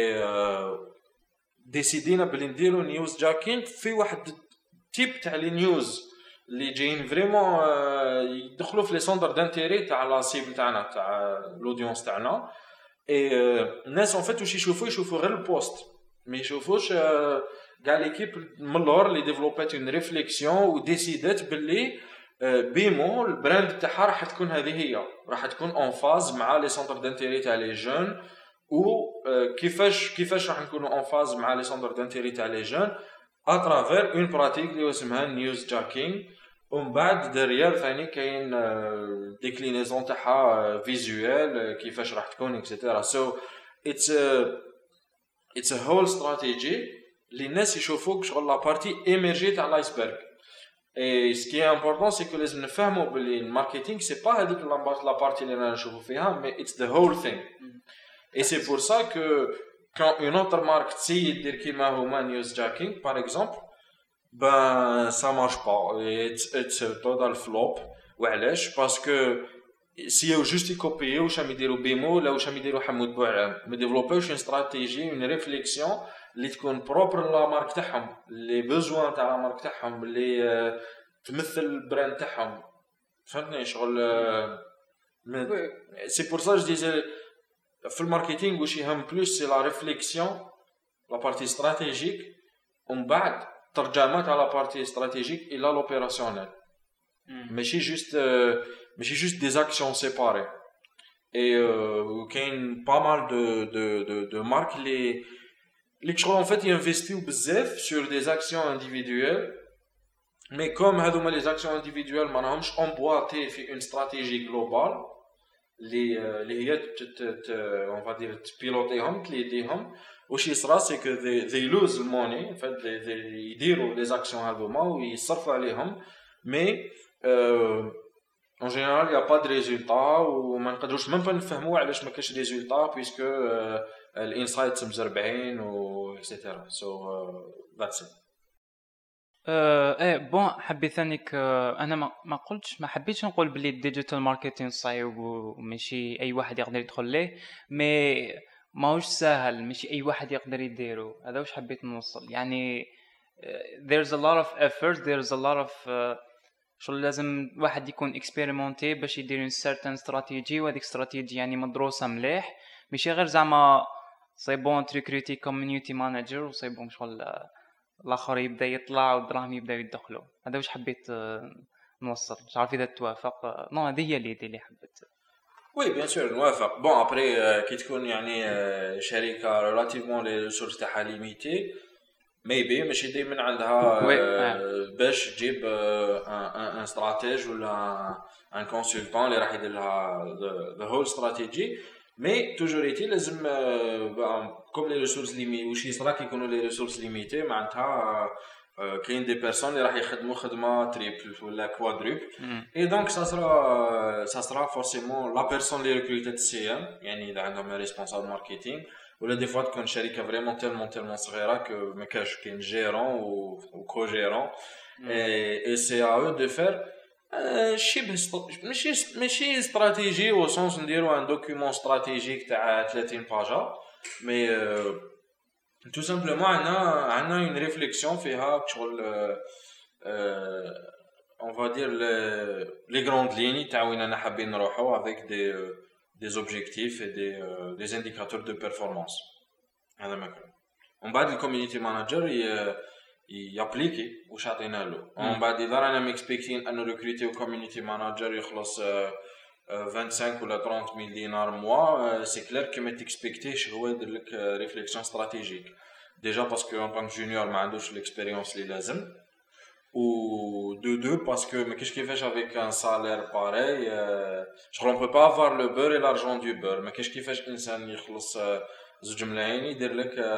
ديسيدينا بلي نديرو نيوز جاكين في واحد تيب تاع لي نيوز اللي جايين فريمون يدخلوا في لي سوندر دانتيري تاع لا سيبل تاعنا تاع لودينس تاعنا. الناس ان فيت واش يشوفوا غير البوست ما يشوفوش كاع ليكيب من اللور اللي ديفلوبات اون ريفليكسيون وديسيدات باللي بيمو البراند تاعها راح تكون هذه هي راح تكون اون فاز مع لي سونتر دانتيري تاع لي جون و كيفاش راح نكونوا اون فاز مع لي سونتر دانتيري تاع لي جون اترافير اون براتيك اللي اسمها نيوز جاكينغ. ومن بعد دريال ثاني كاين ديكلينيزون تاعها فيزوال كيفاش راح تكون اكسيتيرا. سو اتس ا هول استراتيجي اللي الناس يشوفوك شغل لا بارتي ايميرجي تاع الايسبرغ. Et ce qui est important, c'est que les gens نفهموا باللي الماركتينغ c'est pas هذيك la partie اللي رانا نشوفوا فيها mais it's the whole thing. Et c'est pour ça que quand une autre marque تسيد دير كيما هما نيوز جاكينغ par exemple ben ça marche pas it's a total flop. وعلاش؟ parce que si او جوست يكوبيو واش راهم يديروا بيمو ولا واش راهم يديروا حمود بوعلام ما ديفلوبوش اون استراتيجي اون ريفليكسيون اللي تكون بروبر لا مارك تاعهم لي بوزوان تاع لا مارك تاعهم اللي تمثل البراند تاعهم. فهمتني شغل سي بور سا جو ديزي في الماركتينغ واش يهم بلوس سي لا ريفليكسيون لا بارتي استراتيجيك ومن بعد ترجمه تاع لا بارتي استراتيجيك الى لوبيراسيونيل ماشي جوست دي اكسيون سيباري. اي كاين با مال دو مارك لي شغل en fait ينفيستيو بزاف sur des actions individuelles mais comme هذوما les actions individuelles ما راهمش emboîtés في une stratégie globale اللي هي on va dire تبيلوتيهم تليديهم واش يصرا سي كو they lose money en fait يديروا les actions هذوما ويصرفوا عليهم mais en général il y a pas de résultat وما نقدروش même pas نفهموا علاش ما كاش résultat puisque الانسايتس مزربعين و اكسيتيرا. سو ذاتس ايه بون حبيت ثانيك انا ما حبيتش نقول بلي الديجيتال ماركتينغ صعيب وماشي اي واحد يقدر يدخل ليه مي ماهوش سهل ماشي اي واحد يقدر يديره. هذا واش حبيت نوصل يعني there's a lot of effort there's a lot of شغل لازم واحد يكون اكسبيريمونتي باش يدير اون سيرتان استراتيجي، وهذيك استراتيجي يعني مدروسه مليح، ماشي غير زعما سي بون تريكريتي كوميونيتي مانجر وسي بون شغل الاخر يبدا يطلع والدراهم يبداو يدخلوا. هذا واش حبيت نوصل، مش عارف اذا توافق. نو هذه هي اللي حبيت. وي بيان سور نوافق. بون ابري كي تكون يعني شركه ريلاتيفمون لي ريسورس تاعها ليميتي ميبي ماشي دائما عندها باش تجيب ان استراتيج ولا ان كونسلتون اللي راح يدير لها ذا هول استراتيجي. مي توجور ايتي لازم كوم لي ريسورس ليمي واش يصرا كي يكونوا لي ريسورس ليميتي معناتها كاين دي بيرسون اللي راح يخدموا خدمه تريبل ولا كوادروبل. اي دونك سا سرا فورسيمون لا بيرسون اللي ريكروتات السي ام، يعني اذا عندهم ريسبونسابل ماركتينغ ولا دي فوا تكون شركه فريمون تيلمون صغيره كو ما كاش كاين جيرون و كو جيرون. اي سي ا او دو فير شبه ماشي استراتيجي او سونس نديرو ان دوكيومون استراتيجيك تاع 30 باجا، مي tout simplement عندنا une réflexion فيها شغل on va dire les grandes lignes تاع وين انا حابين نروحو avec des objectifs et des indicateurs de performance. هذا ما كان ومن بعد الكوميونيتي مانجر يابليكي واش عطينا له. ومن بعد اذا رانا ميكسبكتين انه ريكروتيو كوميونيتي مانجر يخلص 25 ولا 30 ميل دينار موا، سي كلير كي ما تكسبكتيش هو يدير لك ريفليكسيون استراتيجيك ديجا باسكو ان طونك جونيور ما عندوش ليكسبيريونس اللي لازم، و دو باسكو ما كاينش كيفاش افيك ان سالير باراي شغل اون بو با افوار لو بور اي لارجون دو بور. ما كاينش كيفاش انسان يخلص 2 ملايين يدير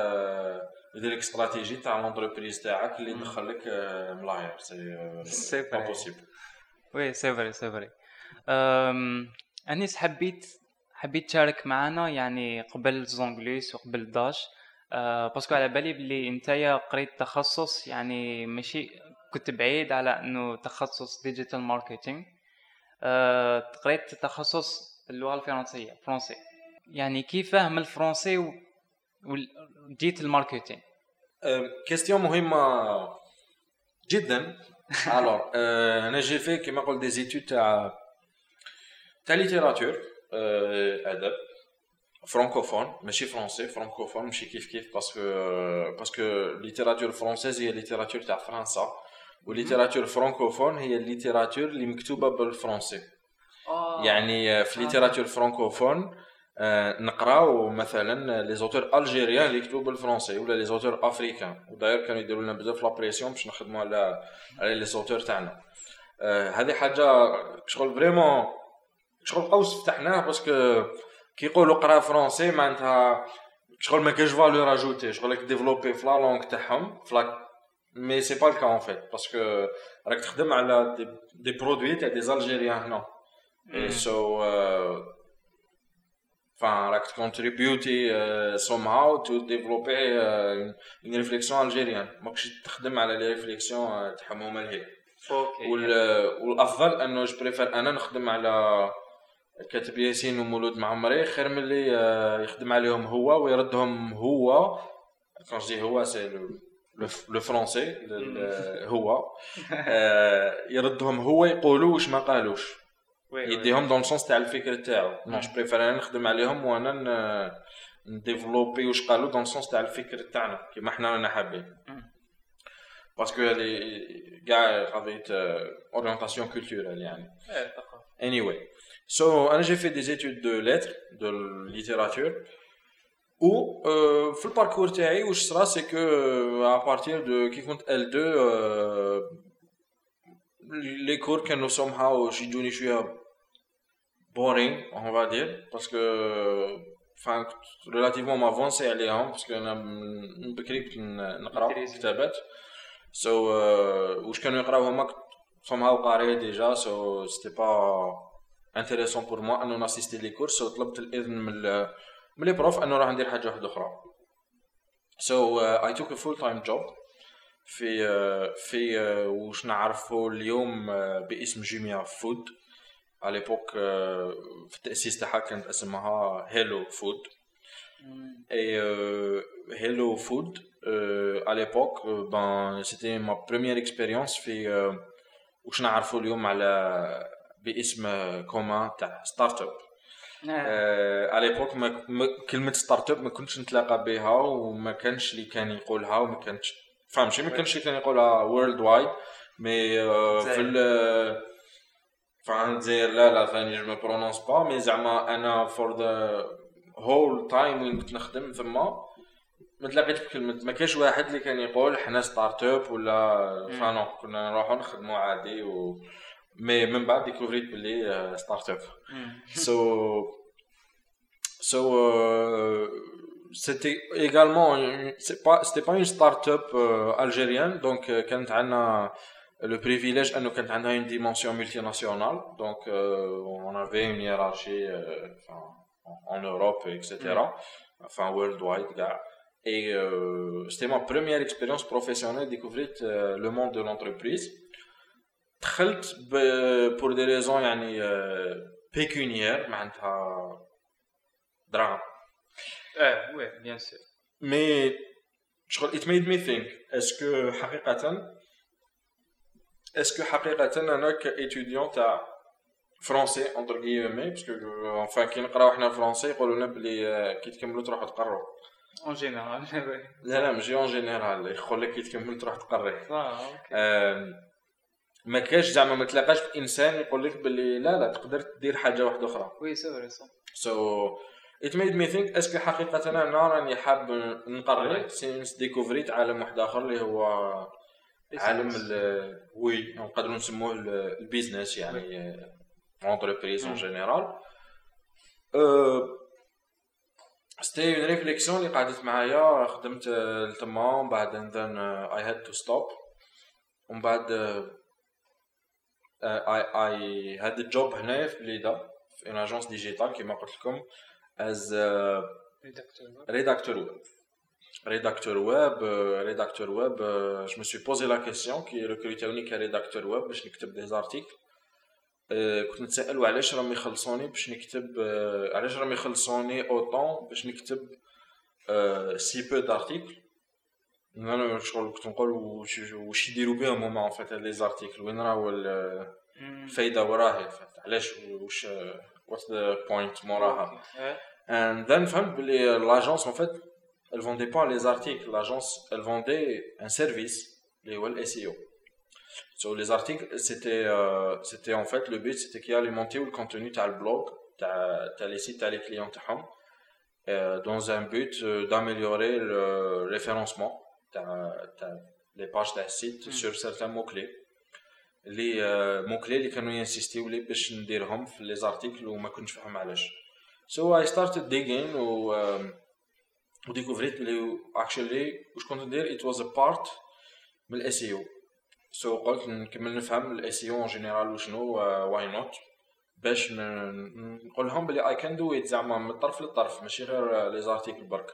لك استراتيجي تاع لونتربريز تاعك اللي يدخل لك ملاير. سي با بوسيبل. وي سي فري. انيس حبيت تشارك معنا يعني قبل زونغليس وقبل داش، باسكو على بالي بلي نتايا قريت تخصص يعني ماشي كنت بعيد على انه تخصص ديجيتال ماركتينغ. قريت تخصص اللغه الفرنسيه فرنسي، يعني كيف فهم الفرنسي وجيت الماركتينغ؟ كيستيون مهمه جدا. الوغ انا جي في كيما قلت دي زيتود تاع ليتيراتور ادب فرانكوفون ماشي فرونسي، فرانكوفون ماشي كيف باسكو ليتيراتور فرونسيز هي ليتيراتور تاع فرنسا، وليتيراتور فرانكوفون هي الليتيراتور اللي مكتوبه بالفرنسي. يعني في ليتيراتور فرانكوفون نقراو مثلا لي زوتور الجيريان اللي يكتبوا بالفرنسي ولا لي زوتور افريكان، وداير كانوا يديروا لنا بزاف لا بريسيون باش نخدموا على لي زوتور تاعنا. هذه حاجه شغل فريمون شغل قوس فتحناه باسكو كي يقولوا قرا فرونسي معناتها شغل ما كاش فالور اجوتي، شغل راك ديفلوبي في لا لونغ تاعهم مي سي با الكا ان فيت باسكو راك تخدم على دي برودوي تاع دي الجيريان هنا. سو راك تكونتريبيوتي somehow to développer une réflexion algérienne. ماكش تخدم على لي ريفليكسيون تاعهم هما لهيه. والافضل انه جو بريفير انا نخدم على كاتب ياسين ومولود معمري خير من اللي يخدم عليهم هو ويردهم هو. كونجي هو سي لو فرونسي هو يردهم هو يقولوا واش ما قالوش، يديهم دون السونس تاع الفكر تاعو. ماش بريفير انا نخدم عليهم وانا نديفلوبي واش قالوا دون السونس تاع الفكر تاعنا كيما حنا رانا حابين، باسكو هذه كاع قضيه اورينتاسيون كولتورال يعني. anyway so انا j'ai fait des études de lettres de littérature و في الباركور تاعي واش صرا سي كو à partir de كي كنت L2 les cours كانوا somehow يجوني شويه boring on va dire parce que enfin relativement m'avancer عليهم parce que انا من بكري كنت نقرا كتابات so واش كانوا يقراو هما somehow قاري ديجا so c'était pas intéressant pour moi انه ناسيستي لي كورس. so طلبت الاذن من لي بروف انه راح ندير حاجه واحده اخرى. so I took a full time job في واش نعرفوا اليوم باسم جيميا فود. على ليبوك في التاسيس تاعها كانت اسمها هيلو فود. اي هيلو فود à l'époque ben c'était ma première expérience واش نعرفوا اليوم على باسم كومان تاع ستارت اب. على ليبوك كلمه ستارت اب ما كنتش نتلاقى بها وما كانش اللي كان يقولها وما كانش فهمتي ما كانش اللي كان يقولها وورلد وايد مي في فعنزير لا ثاني جو ما برونونس با مي زعما انا فور ذا هول تايم وين كنت نخدم ثما ما تلاقيتش بكلمه ما كاش واحد اللي كان يقول حنا ستارت اب ولا فانو كنا نروحوا نخدموا عادي مي من بعد ديكوفريت بلي ستارت اب so c'était également c'était pas une start-up algérienne donc كانت عندنا le privilège انه كانت عندها une dimension multinationale donc on avait une hiérarchie en Europe etc enfin worldwide et c'était ma première expérience professionnelle découvrir le monde de l'entreprise دخلت pour des raisons يعني pécuniaires معناتها دراهم ouais bien sûr mais it made me think est-ce que حقيقة أنا كإتيديون تاع فرنسي entre guillemets parce que enfin كي نقراو حنا فرنسي يقولوا لنا بلي كي تكملوا تروحوا تقروا en général لا ماشي en général يقول لك كي تكمل تروح تقري ما كاش زعما ما تلاقاش انسان يقول لك بلي لا تقدر دير حاجه واحده اخرى وي سي فري so it made me think اسكو حقيقه انا راني حاب نقري سينس ديكوفريت عالم واحد اخر اللي هو عالم وي نقدروا نسموه البيزنس يعني entreprise en général c'était une réflexion اللي قعدت معايا خدمت لتما بعد then I had to stop ومن بعد I had a job هنا في بليده في une agence digitale كما قلت لكم as rédacteur web je me suis posé la question qui recrutait qu'un rédacteur web باش نكتب des articles كنت نتسائل علاش راهم يخلصوني باش نكتب علاش راهم يخلصوني اوطون باش نكتب سي بو دارتيكل انا شغل كنت نقول واش يديروا بهم هما ان فيت لي زارتيكل وين راهو الفايده وراها علاش واش what's the point موراها and then فهمت بلي l'agence en fait elle vendait pas les articles l'agence elle vendait un service اللي هو ال SEO sur les articles c'était en fait le but c'était qu'il alimentait le contenu تاع البلوغ تاع les sites تاع les clients تاعهم dans un but d'améliorer le référencement تاع les pages تاع السيت sur certains mots clés les mots clés اللي كانوا ينسيستيو لي باش نديرهم في les articles وما كنتش فاهم علاش so I started digging وديكوفريت بلي actually واش كنت ندير it was a part من ال SEO so قلت نكمل نفهم ال SEO en general وشنو why not باش نقول لهم بلي I can do it زعما من الطرف للطرف ماشي غير لي زارتيكل برك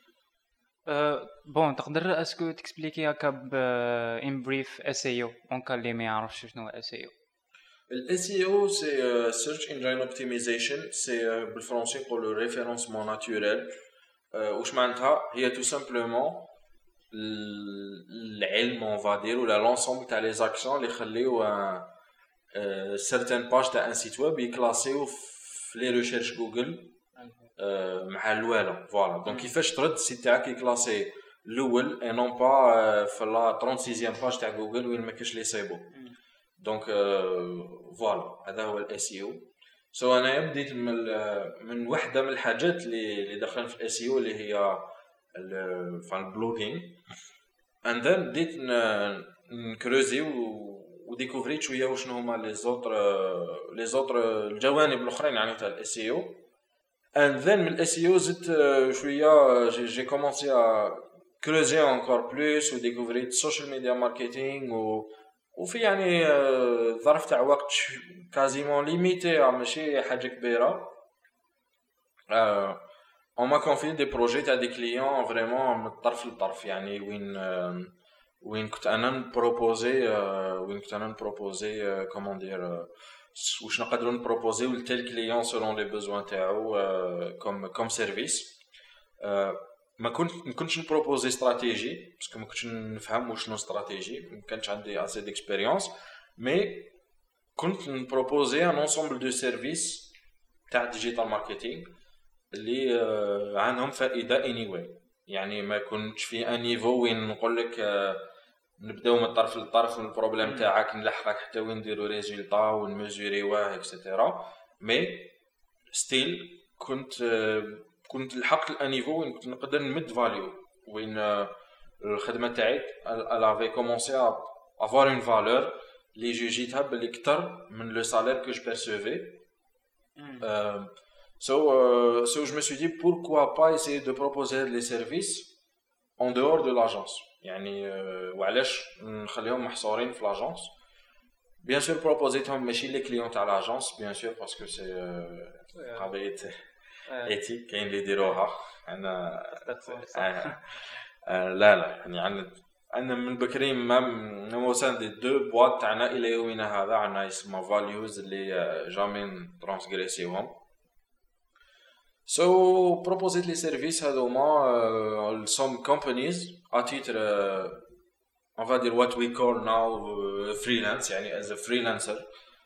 بون تقدر اسكو تكسبليكي هكا ان بريف SEO اون كان اللي ما يعرفش شنو هو SEO ال SEO c'est search engine optimization c'est بالفرنسي يقولوا référencement naturel واش معناتها هي tout simplement العلم on va dire ولا l'ensemble تاع les actions اللي يخليو certaines pages تاع un site web يكلاسيو في les recherches جوجل مع الاولى فوالا دونك كيفاش ترد السيت تاعك يكلاسي الاول اي نون با في لا 36 باج تاع جوجل وين ما كاش لي سيبو دونك فوالا هذا هو الاس اي او سو انا بديت من وحده من الحاجات اللي دخلنا في الاس اي او اللي هي البلوغينغ اند ذن بديت نكروزي وديكوفريت شويه وشنو هما لي زوتر الجوانب الاخرين يعني تاع الاس اي او and then من SEO زدت شويه j'ai commencé à creuser encore plus و découvrir social media marketing وفي يعني ظرف تاع وقت quasiment limité ماشي حاجه كبيره on m'a confié des projets تاع des clients vraiment من الطرف للطرف يعني وين كنت انا نبروبوزي comment dire واش نقدروا نبروبوزيو لتل كليون سولون لي بوزوان تاعو كوم سيرفيس ما كنتش نبروبوزي استراتيجي باسكو ما كنتش نفهم وشنو استراتيجي ما كانش عندي اسي ديكسبيريونس مي كنت نبروبوزي ان انسومبل دو سيرفيس تاع ديجيتال ماركتينغ اللي عندهم فائده anyway. يعني ما كنتش في ان نيفو وين نقول لك نبداو من الطرف للطرف من البروبليم تاعك نلحقك حتى وين نديرو ريزولطا ونميزوريوه اكسيتيرا. مي ستيل كنت لحقت الان نيفو وين كنت نقدر نمد فاليو وين الخدمه تاعي الافي كومونسي ا avoir une valeur اللي جوجيتها باللي اكثر من لو سالير كو جو بيرسيفي. So je me suis dit pourquoi pas essayer de proposer les services en dehors de l'agence. يعني وعلاش نخليهم محصورين في لاجونس. بيان سور بروبوزيتهم ماشي لي كليون تاع لاجونس بيان سور باسكو سي قضيه ايتيك كاين اللي يديروها. انا لا يعني عندنا من بكري ما وصلنا دي دو بواط تاعنا الى يومنا هذا عندنا يسمى فاليوز اللي جامي ترانسغريسيوهم. So proposed les services هذوما some companies à titre on va dire what we call now freelance يعني as a freelancer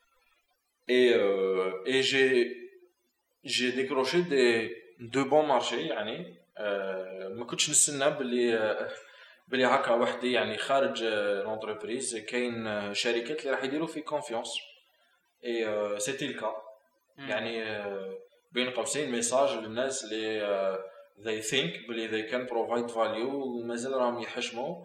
et j'ai décroché de bons marchés يعني ما كنتش نستنى بلي هكا وحدي يعني خارج لونتربريز كاين شركات اللي راح يديروا في كونفيونس et c'était le cas. يعني بين قوسين ميساج للناس اللي they think بلي they can provide value ومازال راهم يحشموا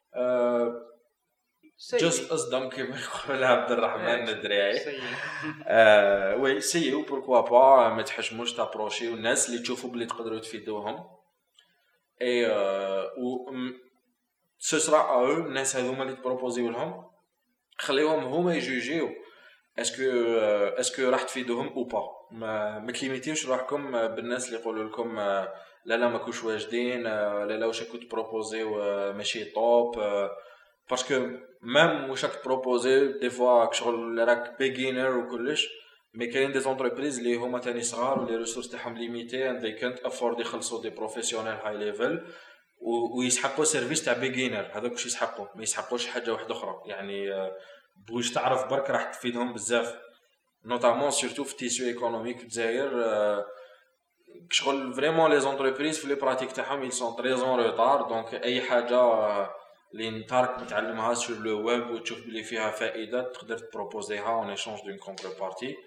just أصدم كما يقول عبد الرحمن الدريعي. وي سيو بوركوا با ما تحشموش تابروشي والناس اللي تشوفوا بلي تقدروا تفيدوهم اي و ce sera à eux الناس هذوما اللي تبروبوزيو لهم خليهم هما يجوجيو اسكو راح تفيدوهم او با. ما تليميتيوش روحكم بالناس اللي يقولوا لكم لا ما كوش واجدين لا واش كنت بروبوزيو ماشي طوب باسكو ميم واش راك بروبوزي دي فوا شغل راك بيجينر وكلش مي كاين دي زونتربريز اللي هما تاني صغار ولي ريسورس تاعهم ليميتي اند they can't afford يخلصوا دي بروفيسيونيل هاي ليفل ويسحقوا سيرفيس تاع بيجينر. هذاك واش يسحقوا ما يسحقوش حاجه واحده اخرى يعني بوش تعرف برك راح تفيدهم بزاف نوتامون سورتو في التيسيو ايكونوميك في الجزائر. شغل فريمون لي زونتربريز في لي براتيك تاعهم ils sont très en retard دونك اي حاجه اللي نتارك نتعلمها سور لو ويب وتشوف بلي فيها فائده تقدر تبروبوزيها اون ايشانج دون كونتربارتي.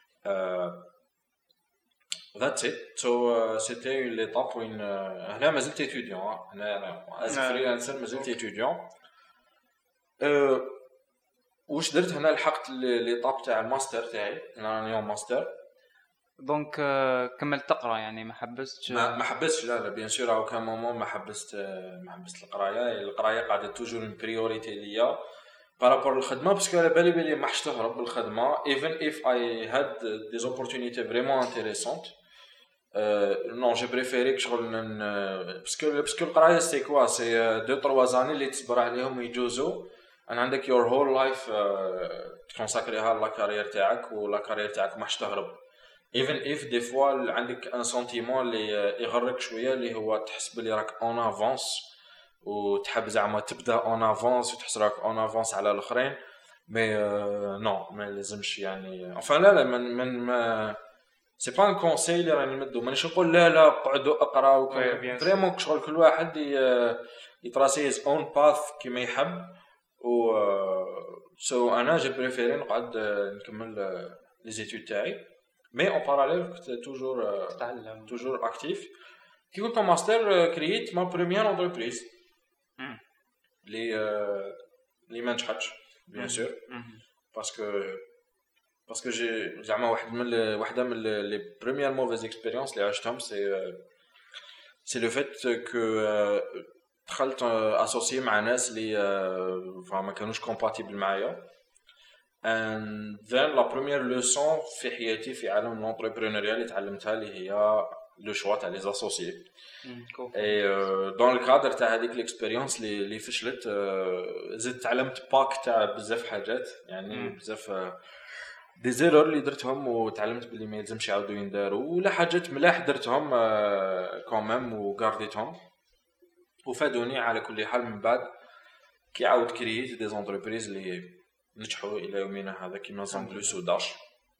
That's it. So c'était l'étape où هنا ما زلت étudiant. هنا as a freelancer ما زلت étudiant. واش درت هنا لحقت ليطاب تاع الماستر تاعي انا اليوم ماستر دونك كملت تقرا يعني ما حبستش لا بيان سور او كان مومون ما حبست القرايه قاعده توجور من بريوريتي ليا بارابور للخدمه باسكو على بالي ما حش تهرب بالخدمه even if I had des opportunités vraiment intéressantes non j'ai préféré que شغل باسكو القرايه سي كوا سي 2-3 زاني اللي تصبر عليهم ويجوزوا انا عندك your whole life تكونساكريها لا كارير تاعك ولا كارير تاعك ما حش تهرب even if des fois عندك ان سنتيمون اللي يغرك شويه اللي هو تحس بلي راك اون افونس وتحب زعما تبدا اون افونس وتحس راك اون افونس على الاخرين مي نو ما لازمش يعني enfin لا من سي با ان كونساي اللي راني نمدو مانيش نقول لا قعدوا اقراو فريمون شغل كل واحد يتراسي هيز اون باث كيما يحب و سو انا جي بريفيري نقعد نكمل لي زيتود تاعي مي اون باراليل كنت توجور اكتيف. كي كنت ماستر كرييت ما بريمير انتربريز لي ما نجحتش بيان سور باسكو جي زعما واحده من لي بريمير موفيز اكسبيريونس اللي عشتهم سي لو فيت كو دخلت اسوسيي مع ناس اللي ما كانوش كومباتيبل معايا and then la première leçon في حياتي في عالم الانتربرونيريا اللي تعلمتها اللي هي لو شوا تاع لي اسوسيي اي دون الكادر تاع هذيك الاكسبيريونس اللي فشلت زدت تعلمت باك تاع بزاف حاجات يعني بزاف دي زيرور اللي درتهم وتعلمت بلي ما يلزمش يعاودوا ينداروا ولا حاجات ملاح درتهم كومام وغارديتهم وفادوني على كل حال من بعد كي عاود كرييت دي زونتربريز اللي نجحوا الى يومنا هذا كيما زون بلوس وداش.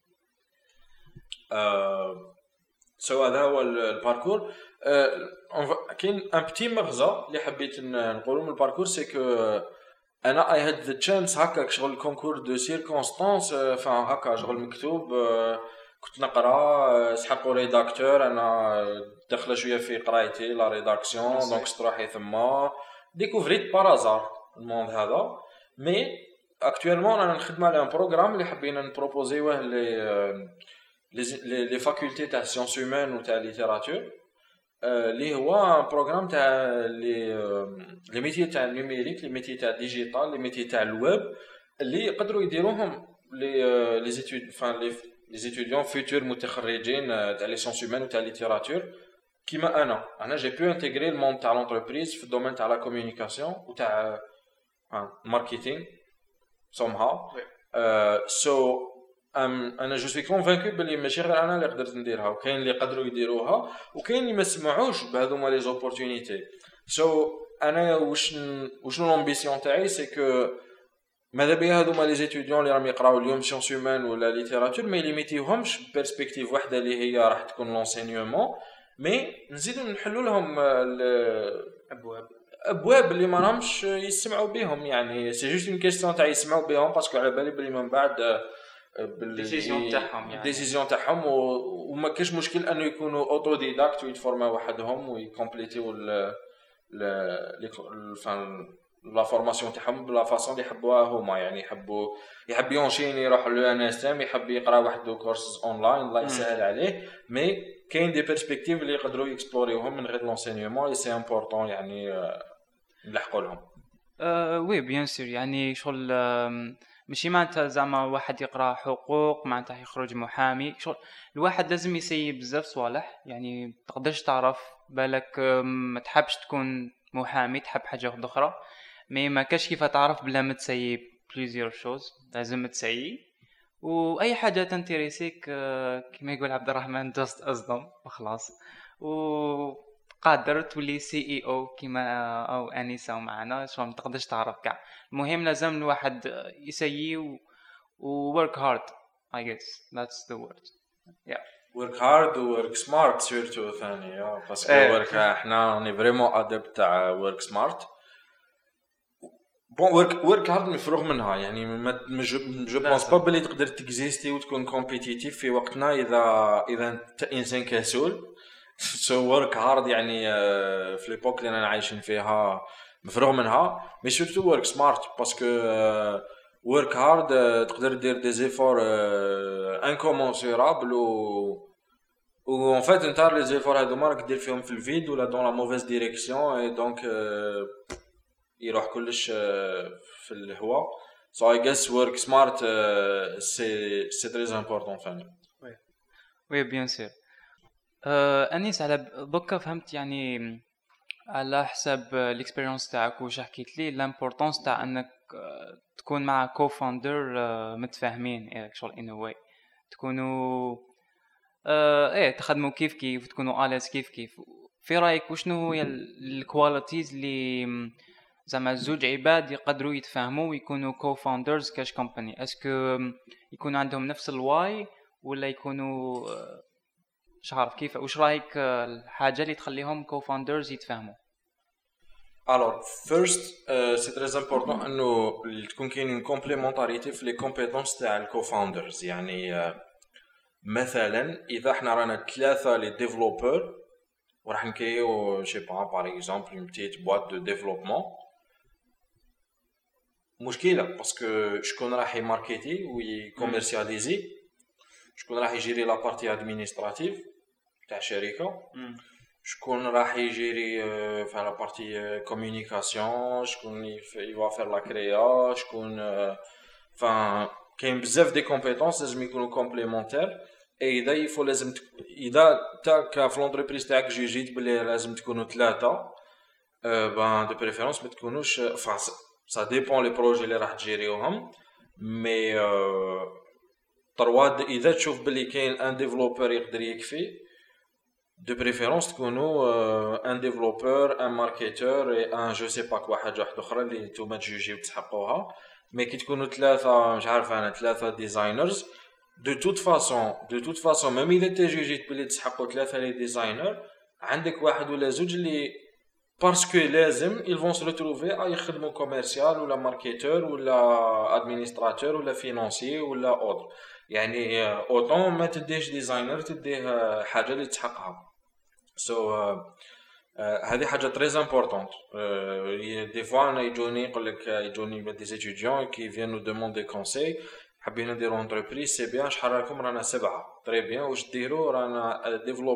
سو هذا هو الباركور. كاين ان بتي مغزى اللي حبيت نقولوا من الباركور، سي كو انا اي هاد ذا تشانس هكا شغل كونكور دو سيركونستانس، هكا شغل مكتوب، كنت نقرا سحقوا ريداكتور، انا داخله شويه في قرايتي لا ريداكسيون، دونك استراحي ثما ديكوفريت بارازار الموند هذا. مي اكطوالمون انا نخدم على ان بروغرام اللي حبينا نبروبوزيوه لي فاكولتي تاع سيونس هيومان و تاع ليتيراتور، اللي هو بروغرام تاع لي ميتي تاع النيميريك، لي ميتي تاع ديجيتال، لي ميتي تاع الويب، اللي يقدروا يديروهم لي زيتود لي زيتوديون فيتور متخرجين تاع لي سيونس هيومان و تاع ليتيراتور كيما انا جي بو انتيغري الموند تاع لونتربريز في الدومين تاع لا كومونيكاسيون و تاع ماركتينغ somehow. سو انا جو سوي كونفانكو بلي ماشي غير انا اللي قدرت نديرها، وكاين اللي يقدروا يديروها، وكاين اللي ما سمعوش بهذوما لي زوبورتونيتي. سو انا وشنو لامبيسيون تاعي، سي كو ماذا بيا هذوما لي زيتوديون اللي راهم يقراو اليوم سيونس هيومان ولا ليتيراتور ما يليميتيوهمش بيرسبكتيف واحده اللي هي راح تكون لونسينيومون، مي نزيدو نحلوا لهم ابواب اللي ما راهمش يسمعوا بهم. يعني سي جوست اون كيستيون تاع يسمعوا بهم، باسكو على بالي بلي من بعد ديسيزيون تاعهم، يعني ديسيزيون تاعهم، وما كاش مشكل انه يكونوا اوتو ديداكت ويتفورماو وحدهم ويكومبليتيو لا فورماسيون تاعهم بلا فاصون اللي يحبوها هما. يعني يحب يونشيني يروح لو ان اس ام، يحب يقرا واحد كورسز اونلاين الله يسهل عليه، مي كاين دي بيرسبكتيف اللي يقدروا يكسبلوريوهم من غير لونسينيومون، سي امبورطون يعني نلحقوا لهم. وي بيان سور، يعني شغل ماشي معناتها زعما واحد يقرا حقوق معناتها يخرج محامي. شغل الواحد لازم يسيب بزاف صوالح، يعني تقدرش تعرف بالك ما تحبش تكون محامي، تحب حاجه اخرى، مي ما كاش كيف تعرف بلا ما تسيب بليزيور شوز، لازم تسيب. واي حاجه تنتريسيك كما يقول عبد الرحمن جاست اصدم وخلاص، وقادر تولي سي اي او كيما او انيسه معنا. شو ما تقدرش تعرف كاع، المهم لازم الواحد يسيي و work hard. I guess that's the word. Yeah. work hard و work smart سورتو ثاني، باسكو work احنا راني فريمون ادبت تاع work smart. بون work hard مفروغ منها، يعني ما جو بونس با بلي تقدر تكزيستي وتكون كومبيتيتيف في وقتنا اذا انت انسان كسول. سو work hard يعني في ليبوك اللي انا عايشين فيها مفروغ منها، مي سورتو work smart باسكو work hard تقدر دير دي زيفور انكومونسيرابل و en fait انت لي زيفور هادو ما راك دير فيهم في الفيد ولا دون لا موفيز ديريكسيون، اي دونك يروح كلش في الهواء. so I guess work smart c'est très important فاني. وي بيان سور. انيس على دوكا فهمت يعني على حسب الاكسبيرينس تاعك واش حكيت لي لامبورطونس تاع انك تكون مع كوفاوندر متفاهمين شغل ان واي تكونوا تخدموا كيف تكونوا اليس كيف. في رايك وشنو هي الكواليتيز اللي زعما زوج عباد يقدروا يتفاهموا ويكونوا كوفاوندرز كاش كومباني؟ اسكو يكونوا عندهم نفس الواي ولا يكونوا مش عارف كيف؟ وش رايك الحاجه اللي تخليهم كوفاوندرز يتفاهموا؟ Alors first c'est très important انه تكون كاين كومبليمونتاريتي في لي كومبيتونس تاع الكوفاوندرز. يعني مثلا اذا احنا رانا ثلاثه لي ديفلوبور وراح نكريو شي باغ اكزومبل اون بتيت بواط دو ديفلوبمون، مشكله باسكو شكون راح يماركيتي ويكوميرسياليزي، شكون راح يجيري لا بارتي ادمينستراتيف تاع الشركه، شكون راح يجيري في لا بارتي كومونيكاسيون، شكون يوا فير لا كريا، شكون كاين بزاف دي كومبيتونس لازم يكونوا كومبليمونتير. اي اذا يفو لازم اذا تا في لونتربريز تاعك جيت بلي لازم تكونوا ثلاثه، بان دو بريفيرونس ما تكونوش سا ديبون لي بروجي اللي راح تجيريوهم، مي تروا اذا تشوف بلي كاين ان ديفلوبر يقدر يكفي، دو بريفيرونس تكونوا ان ديفلوبر ان ماركتور اي ان جو سي با كوا حاجه واحده اخرى اللي نتوما تجوجيو تسحقوها. مي كي تكونوا ثلاثه مش عارف انا ثلاثه ديزاينرز دو توت فاسون ميم اذا انت جيت بلي تسحقوا ثلاثه لي ديزاينر عندك واحد ولا زوج اللي باسكو لازم ils vont se retrouver يخدموا كوميرسيال ولا ماركتور ولا ادمينستراتور ولا فينانسي ولا اوتر يعني اوطون ما تديش ديزاينر تديه حاجه اللي تحققها سو هذه حاجه تري امبورطونط دي فوا انا يجوني دي ستوديون كي فينو دوموندي كونساي حابين نديرو انتربريز سي بيان شحال راكم رانا 7 تري بيان واش ديرو رانا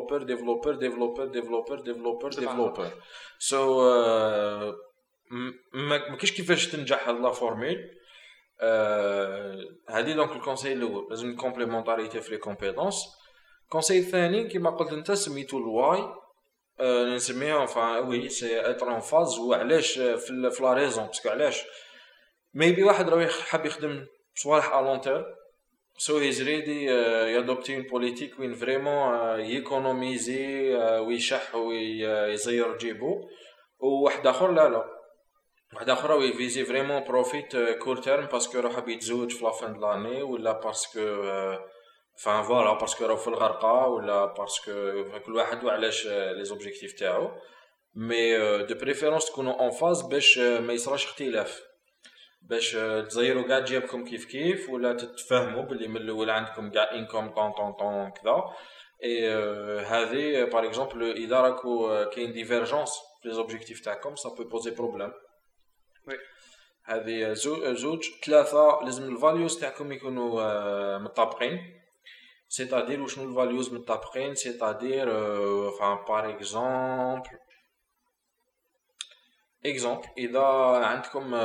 ديفلوبر سو ما كاينش كيفاش تنجح هاد لا فورمول هادي دونك الكونساي الاول لازم كومبليمونطاريتي في لي كومبيتونس الكونساي الثاني كيما قلت انت سميتو الواي نسميها enfin oui c'est être en phase وعلاش في لا ريزون باسكو علاش ميبي واحد راه حاب يخدم صوالح ا لون تيرم سو هيز ريدي يادوبتي اون بوليتيك وين فريمون ييكونوميزي ويشح ويزير جيبو وواحد اخر لا واحد اخر راه يفيزي فريمون بروفيت كور تيرم باسكو راه حاب يتزوج في لا فان د لاني ولا باسكو فان فوالا باسكو راهو في الغرقه ولا باسكو كل واحد وعلاش لي زوبجيكتيف تاعو مي دو بريفيرونس تكونوا اون فاز باش ما يصراش اختلاف باش تزيروا كاع جيبكم كيف ولا تتفاهموا باللي من الاول عندكم كاع انكم طون كذا اي هذه باغ اكزومبل اذا راكو كاين ديفيرجونس في لي زوبجيكتيف تاعكم سا بو بوزي بروبليم وي هذه زوج ثلاثه لازم الفاليوز تاعكم يكونوا مطابقين c'est-à-dire وشنو الفاليوز متطابقين c'est-à-dire enfin par exemple اذا عندكم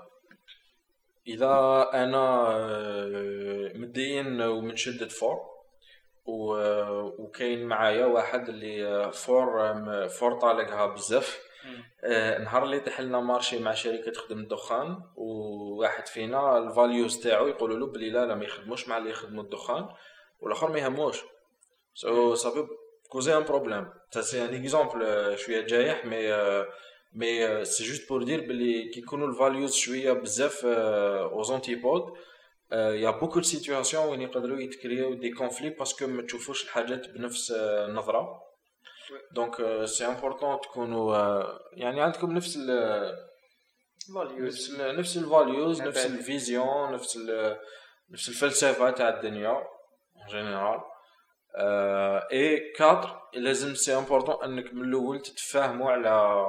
اذا انا مدين ومنشدد فور وكاين معايا واحد اللي فور طالقها بزاف نهار اللي تحلنا مارشي مع شركه تخدم الدخان وواحد فينا الفاليوز تاعو يقولوا له بلي لا ما يخدموش مع اللي يخدموا الدخان والاخر ما يهموش سو صافي كوزي ان بروبليم سي ان اكزامبل شويه جايح مي سي جوست بور دير بلي كي يكونوا الفاليوز شويه بزاف اوز انتيبود يا بوكو دو سيتوياسيون وين يقدروا يتكريو دي كونفلي باسكو ما تشوفوش الحاجات بنفس النظره دونك سي امبورطون تكونوا يعني عندكم نفس الفاليوز نفس الفيزيون نفس الفلسفه تاع الدنيا en général et 4 لازم سي امبورطون انك من الاول تتفاهموا على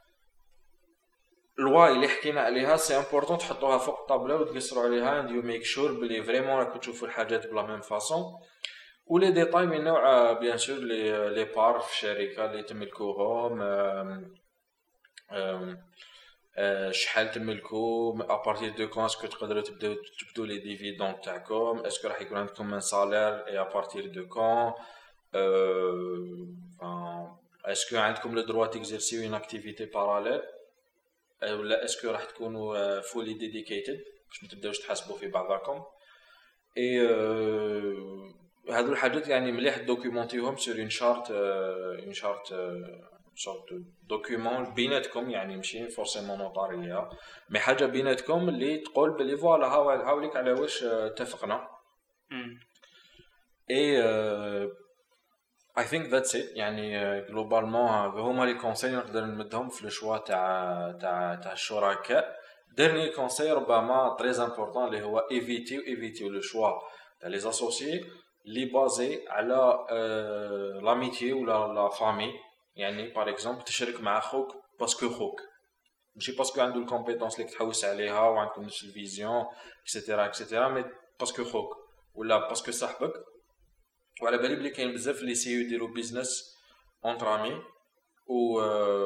الواي اللي حكينا عليها سي امبورطون تحطوها فوق الطابله وتقصروا عليها and you make sure بلي فريمون راكم تشوفوا الحاجات بلا ميم فاصون ولي ديتاي من نوع بيان سور لي بار في الشركه اللي تملكوهم شحال تملكوا ابارتير دو كون اسكو تقدروا تبدوا لي ديفيدون تاعكم اسكو راح يكون عندكم ان سالير اي ابارتير دو كون اسكو عندكم لو دروا تيكزيرسيو اون اكتيفيتي باراليل ولا اسكو راح تكونوا فولي ديديكيتد باش ما تبداوش تحاسبوا في بعضكم اي هذو الحاجات يعني مليح دوكيومونتيهم سور اون شارت sorte de document بيناتكم يعني ماشي فورسيمون نوطاريه مي حاجه بيناتكم اللي تقول بلي فوالا هاوليك على واش اتفقنا اي I think that's it يعني جلوبالمون هما لي كونساي نقدر نمدهم في الشوا تاع الشركاء ديرني كونساي ربما تري امبورطون اللي هو ايفيتيو لو شوا تاع لي اسوسيي لي بازي على لاميتي ولا لا فامي يعني باغ اكزومبل تشارك مع خوك باسكو خوك ماشي باسكو عنده الكومبيتونس اللي تحوس عليها وعندكم نفس الفيزيون اكسيتيرا مي باسكو خوك ولا باسكو صاحبك وعلى بالي بلي كاين بزاف اللي سيو يديروا بيزنس اونترامي و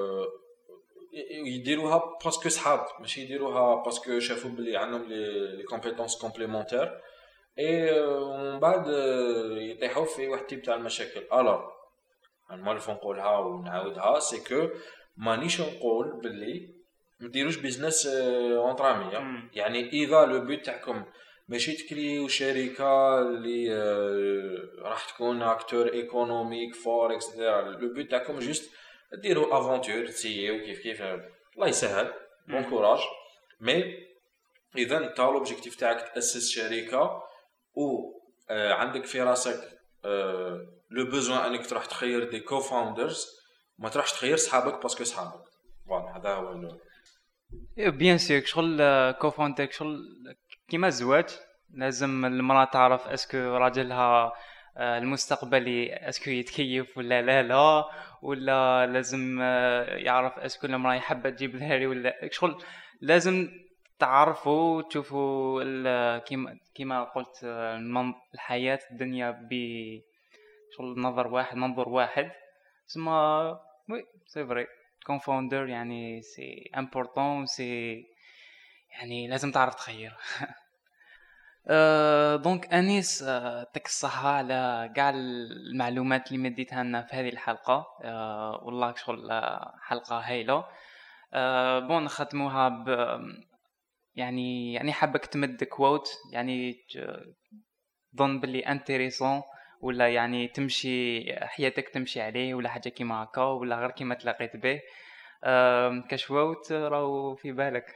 يديروها باسكو صحاب ماشي يديروها باسكو شافوا بلي عندهم لي كومبيتونس كومبليمونتير اي ومن بعد يطيحوا في واحد تيب تاع المشاكل الوغ انا ما نقولها ونعاودها سي كو مانيش نقول باللي مديروش بيزنس اونترامي يعني اذا لو بوت تاعكم ماشي تكريو شركه اللي راح تكون اكتور ايكونوميك فوركس لو بوت تاعكم جوست ديروا افونتور تسيو كيف الله يسهل بون كوراج مي اذا انت لوبجيكتيف تاعك تاسس شركه و عندك في راسك لو بوزوان انك تروح تخير دي كو فاوندرز، ما تروحش تخير صحابك باسكو صحابك. فوالا هذا هو بيان سور شغل كوفونتك شغل كيما الزواج، لازم المرأة تعرف اسكو راجلها المستقبلي اسكو يتكيف ولا لا، ولا لازم يعرف اسكو المرأة حابة تجيب ذهري ولا شغل. لازم تعرفوا تشوفوا كيما قلت الحياة الدنيا شغل منظور واحد. اسمها وي سي فري كونفوندر يعني سي امبورطون، سي يعني لازم تعرف تخير. دونك انيس يعطيك الصحة على كاع المعلومات اللي مديتها لنا في هذه الحلقة. والله شغل حلقة هايلة. بون نختموها ب يعني حابك تمد كوت يعني ظن باللي انتريسون، ولا يعني تمشي حياتك تمشي عليه، ولا حاجه كيما هكا، ولا غير كيما تلاقيت به كشوت راهو في بالك.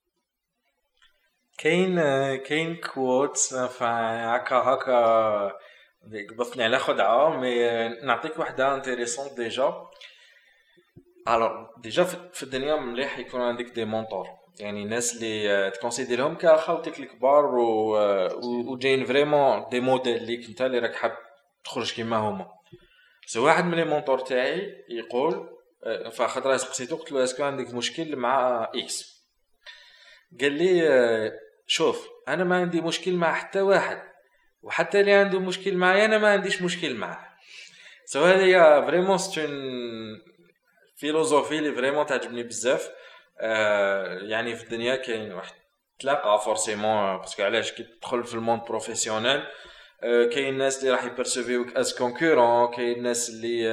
كاين كوت هكا قبضتني على خدعه، مي نعطيك واحده انتريسون ديجا. الوغ ديجا في الدنيا مليح يكون عندك دي مونتور، يعني ناس اللي تكونسيديرهم كخوتك الكبار و جايين فريمون دي موديل ليك انت اللي راك حاب تخرج كيما هما. سو واحد من لي مونتور تاعي يقول فخطره سقسيتو قلت له اسكو عندك مشكل مع اكس؟ قال لي شوف انا ما عندي مشكل مع حتى واحد، وحتى اللي عنده مشكل معايا انا ما عنديش مشكل معاه. سو هذه فريمون ستون فيلوزوفي اللي فريمون تعجبني بزاف. يعني في الدنيا كاين واحد تلاقى فورسيمون باسكو علاش كي تدخل في الموند بروفيسيونيل كاين الناس اللي راح يبرسيفيوك از كونكورون، كاين الناس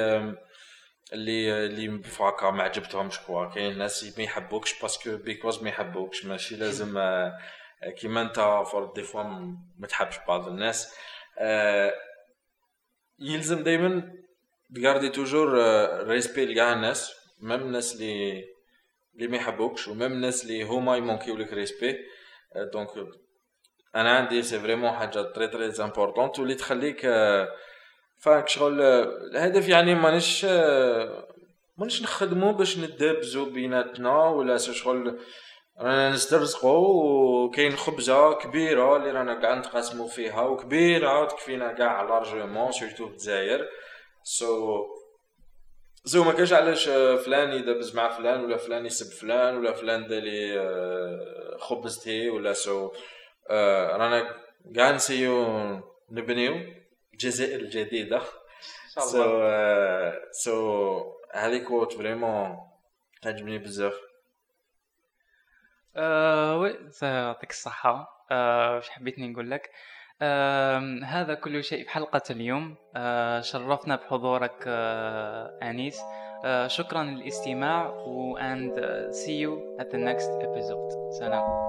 اللي فاكا ما عجبتهمش كوا، كاين الناس ما يحبوكش باسكو بيكوز ما يحبوكش، ماشي لازم كيما انت فور دي فوا ما تحبش بعض الناس. يلزم دائما تغاردي توجور ريسبي لكاع الناس، ميم الناس اللي ما يحبوكش، وميم الناس اللي هما يمونكيو لك ريسبي. دونك انا عندي سي فريمون حاجه تري تري امبورطونت واللي تخليك فاك شغل الهدف. يعني مانيش نخدمو باش ندبزو بيناتنا ولا شغل رانا نسترزقو، وكاين خبزه كبيره اللي رانا قاعد نتقاسمو فيها وكبيره تكفينا كاع لارجومون سورتو في الجزائر. زو ما كاش علاش فلان يدبز مع فلان ولا فلان يسب فلان ولا فلان دالي خبزتي ولا رانا قاعد نسيو نبنيو الجزائر الجديده ان شاء الله. هذيك كوت فريمون تعجبني بزاف. وي يعطيك الصحة. واش حبيتني نقول لك؟ هذا كل شيء في حلقة اليوم. شرفنا بحضورك أنيس. شكرا للاستماع and see you at the next episode. سلام.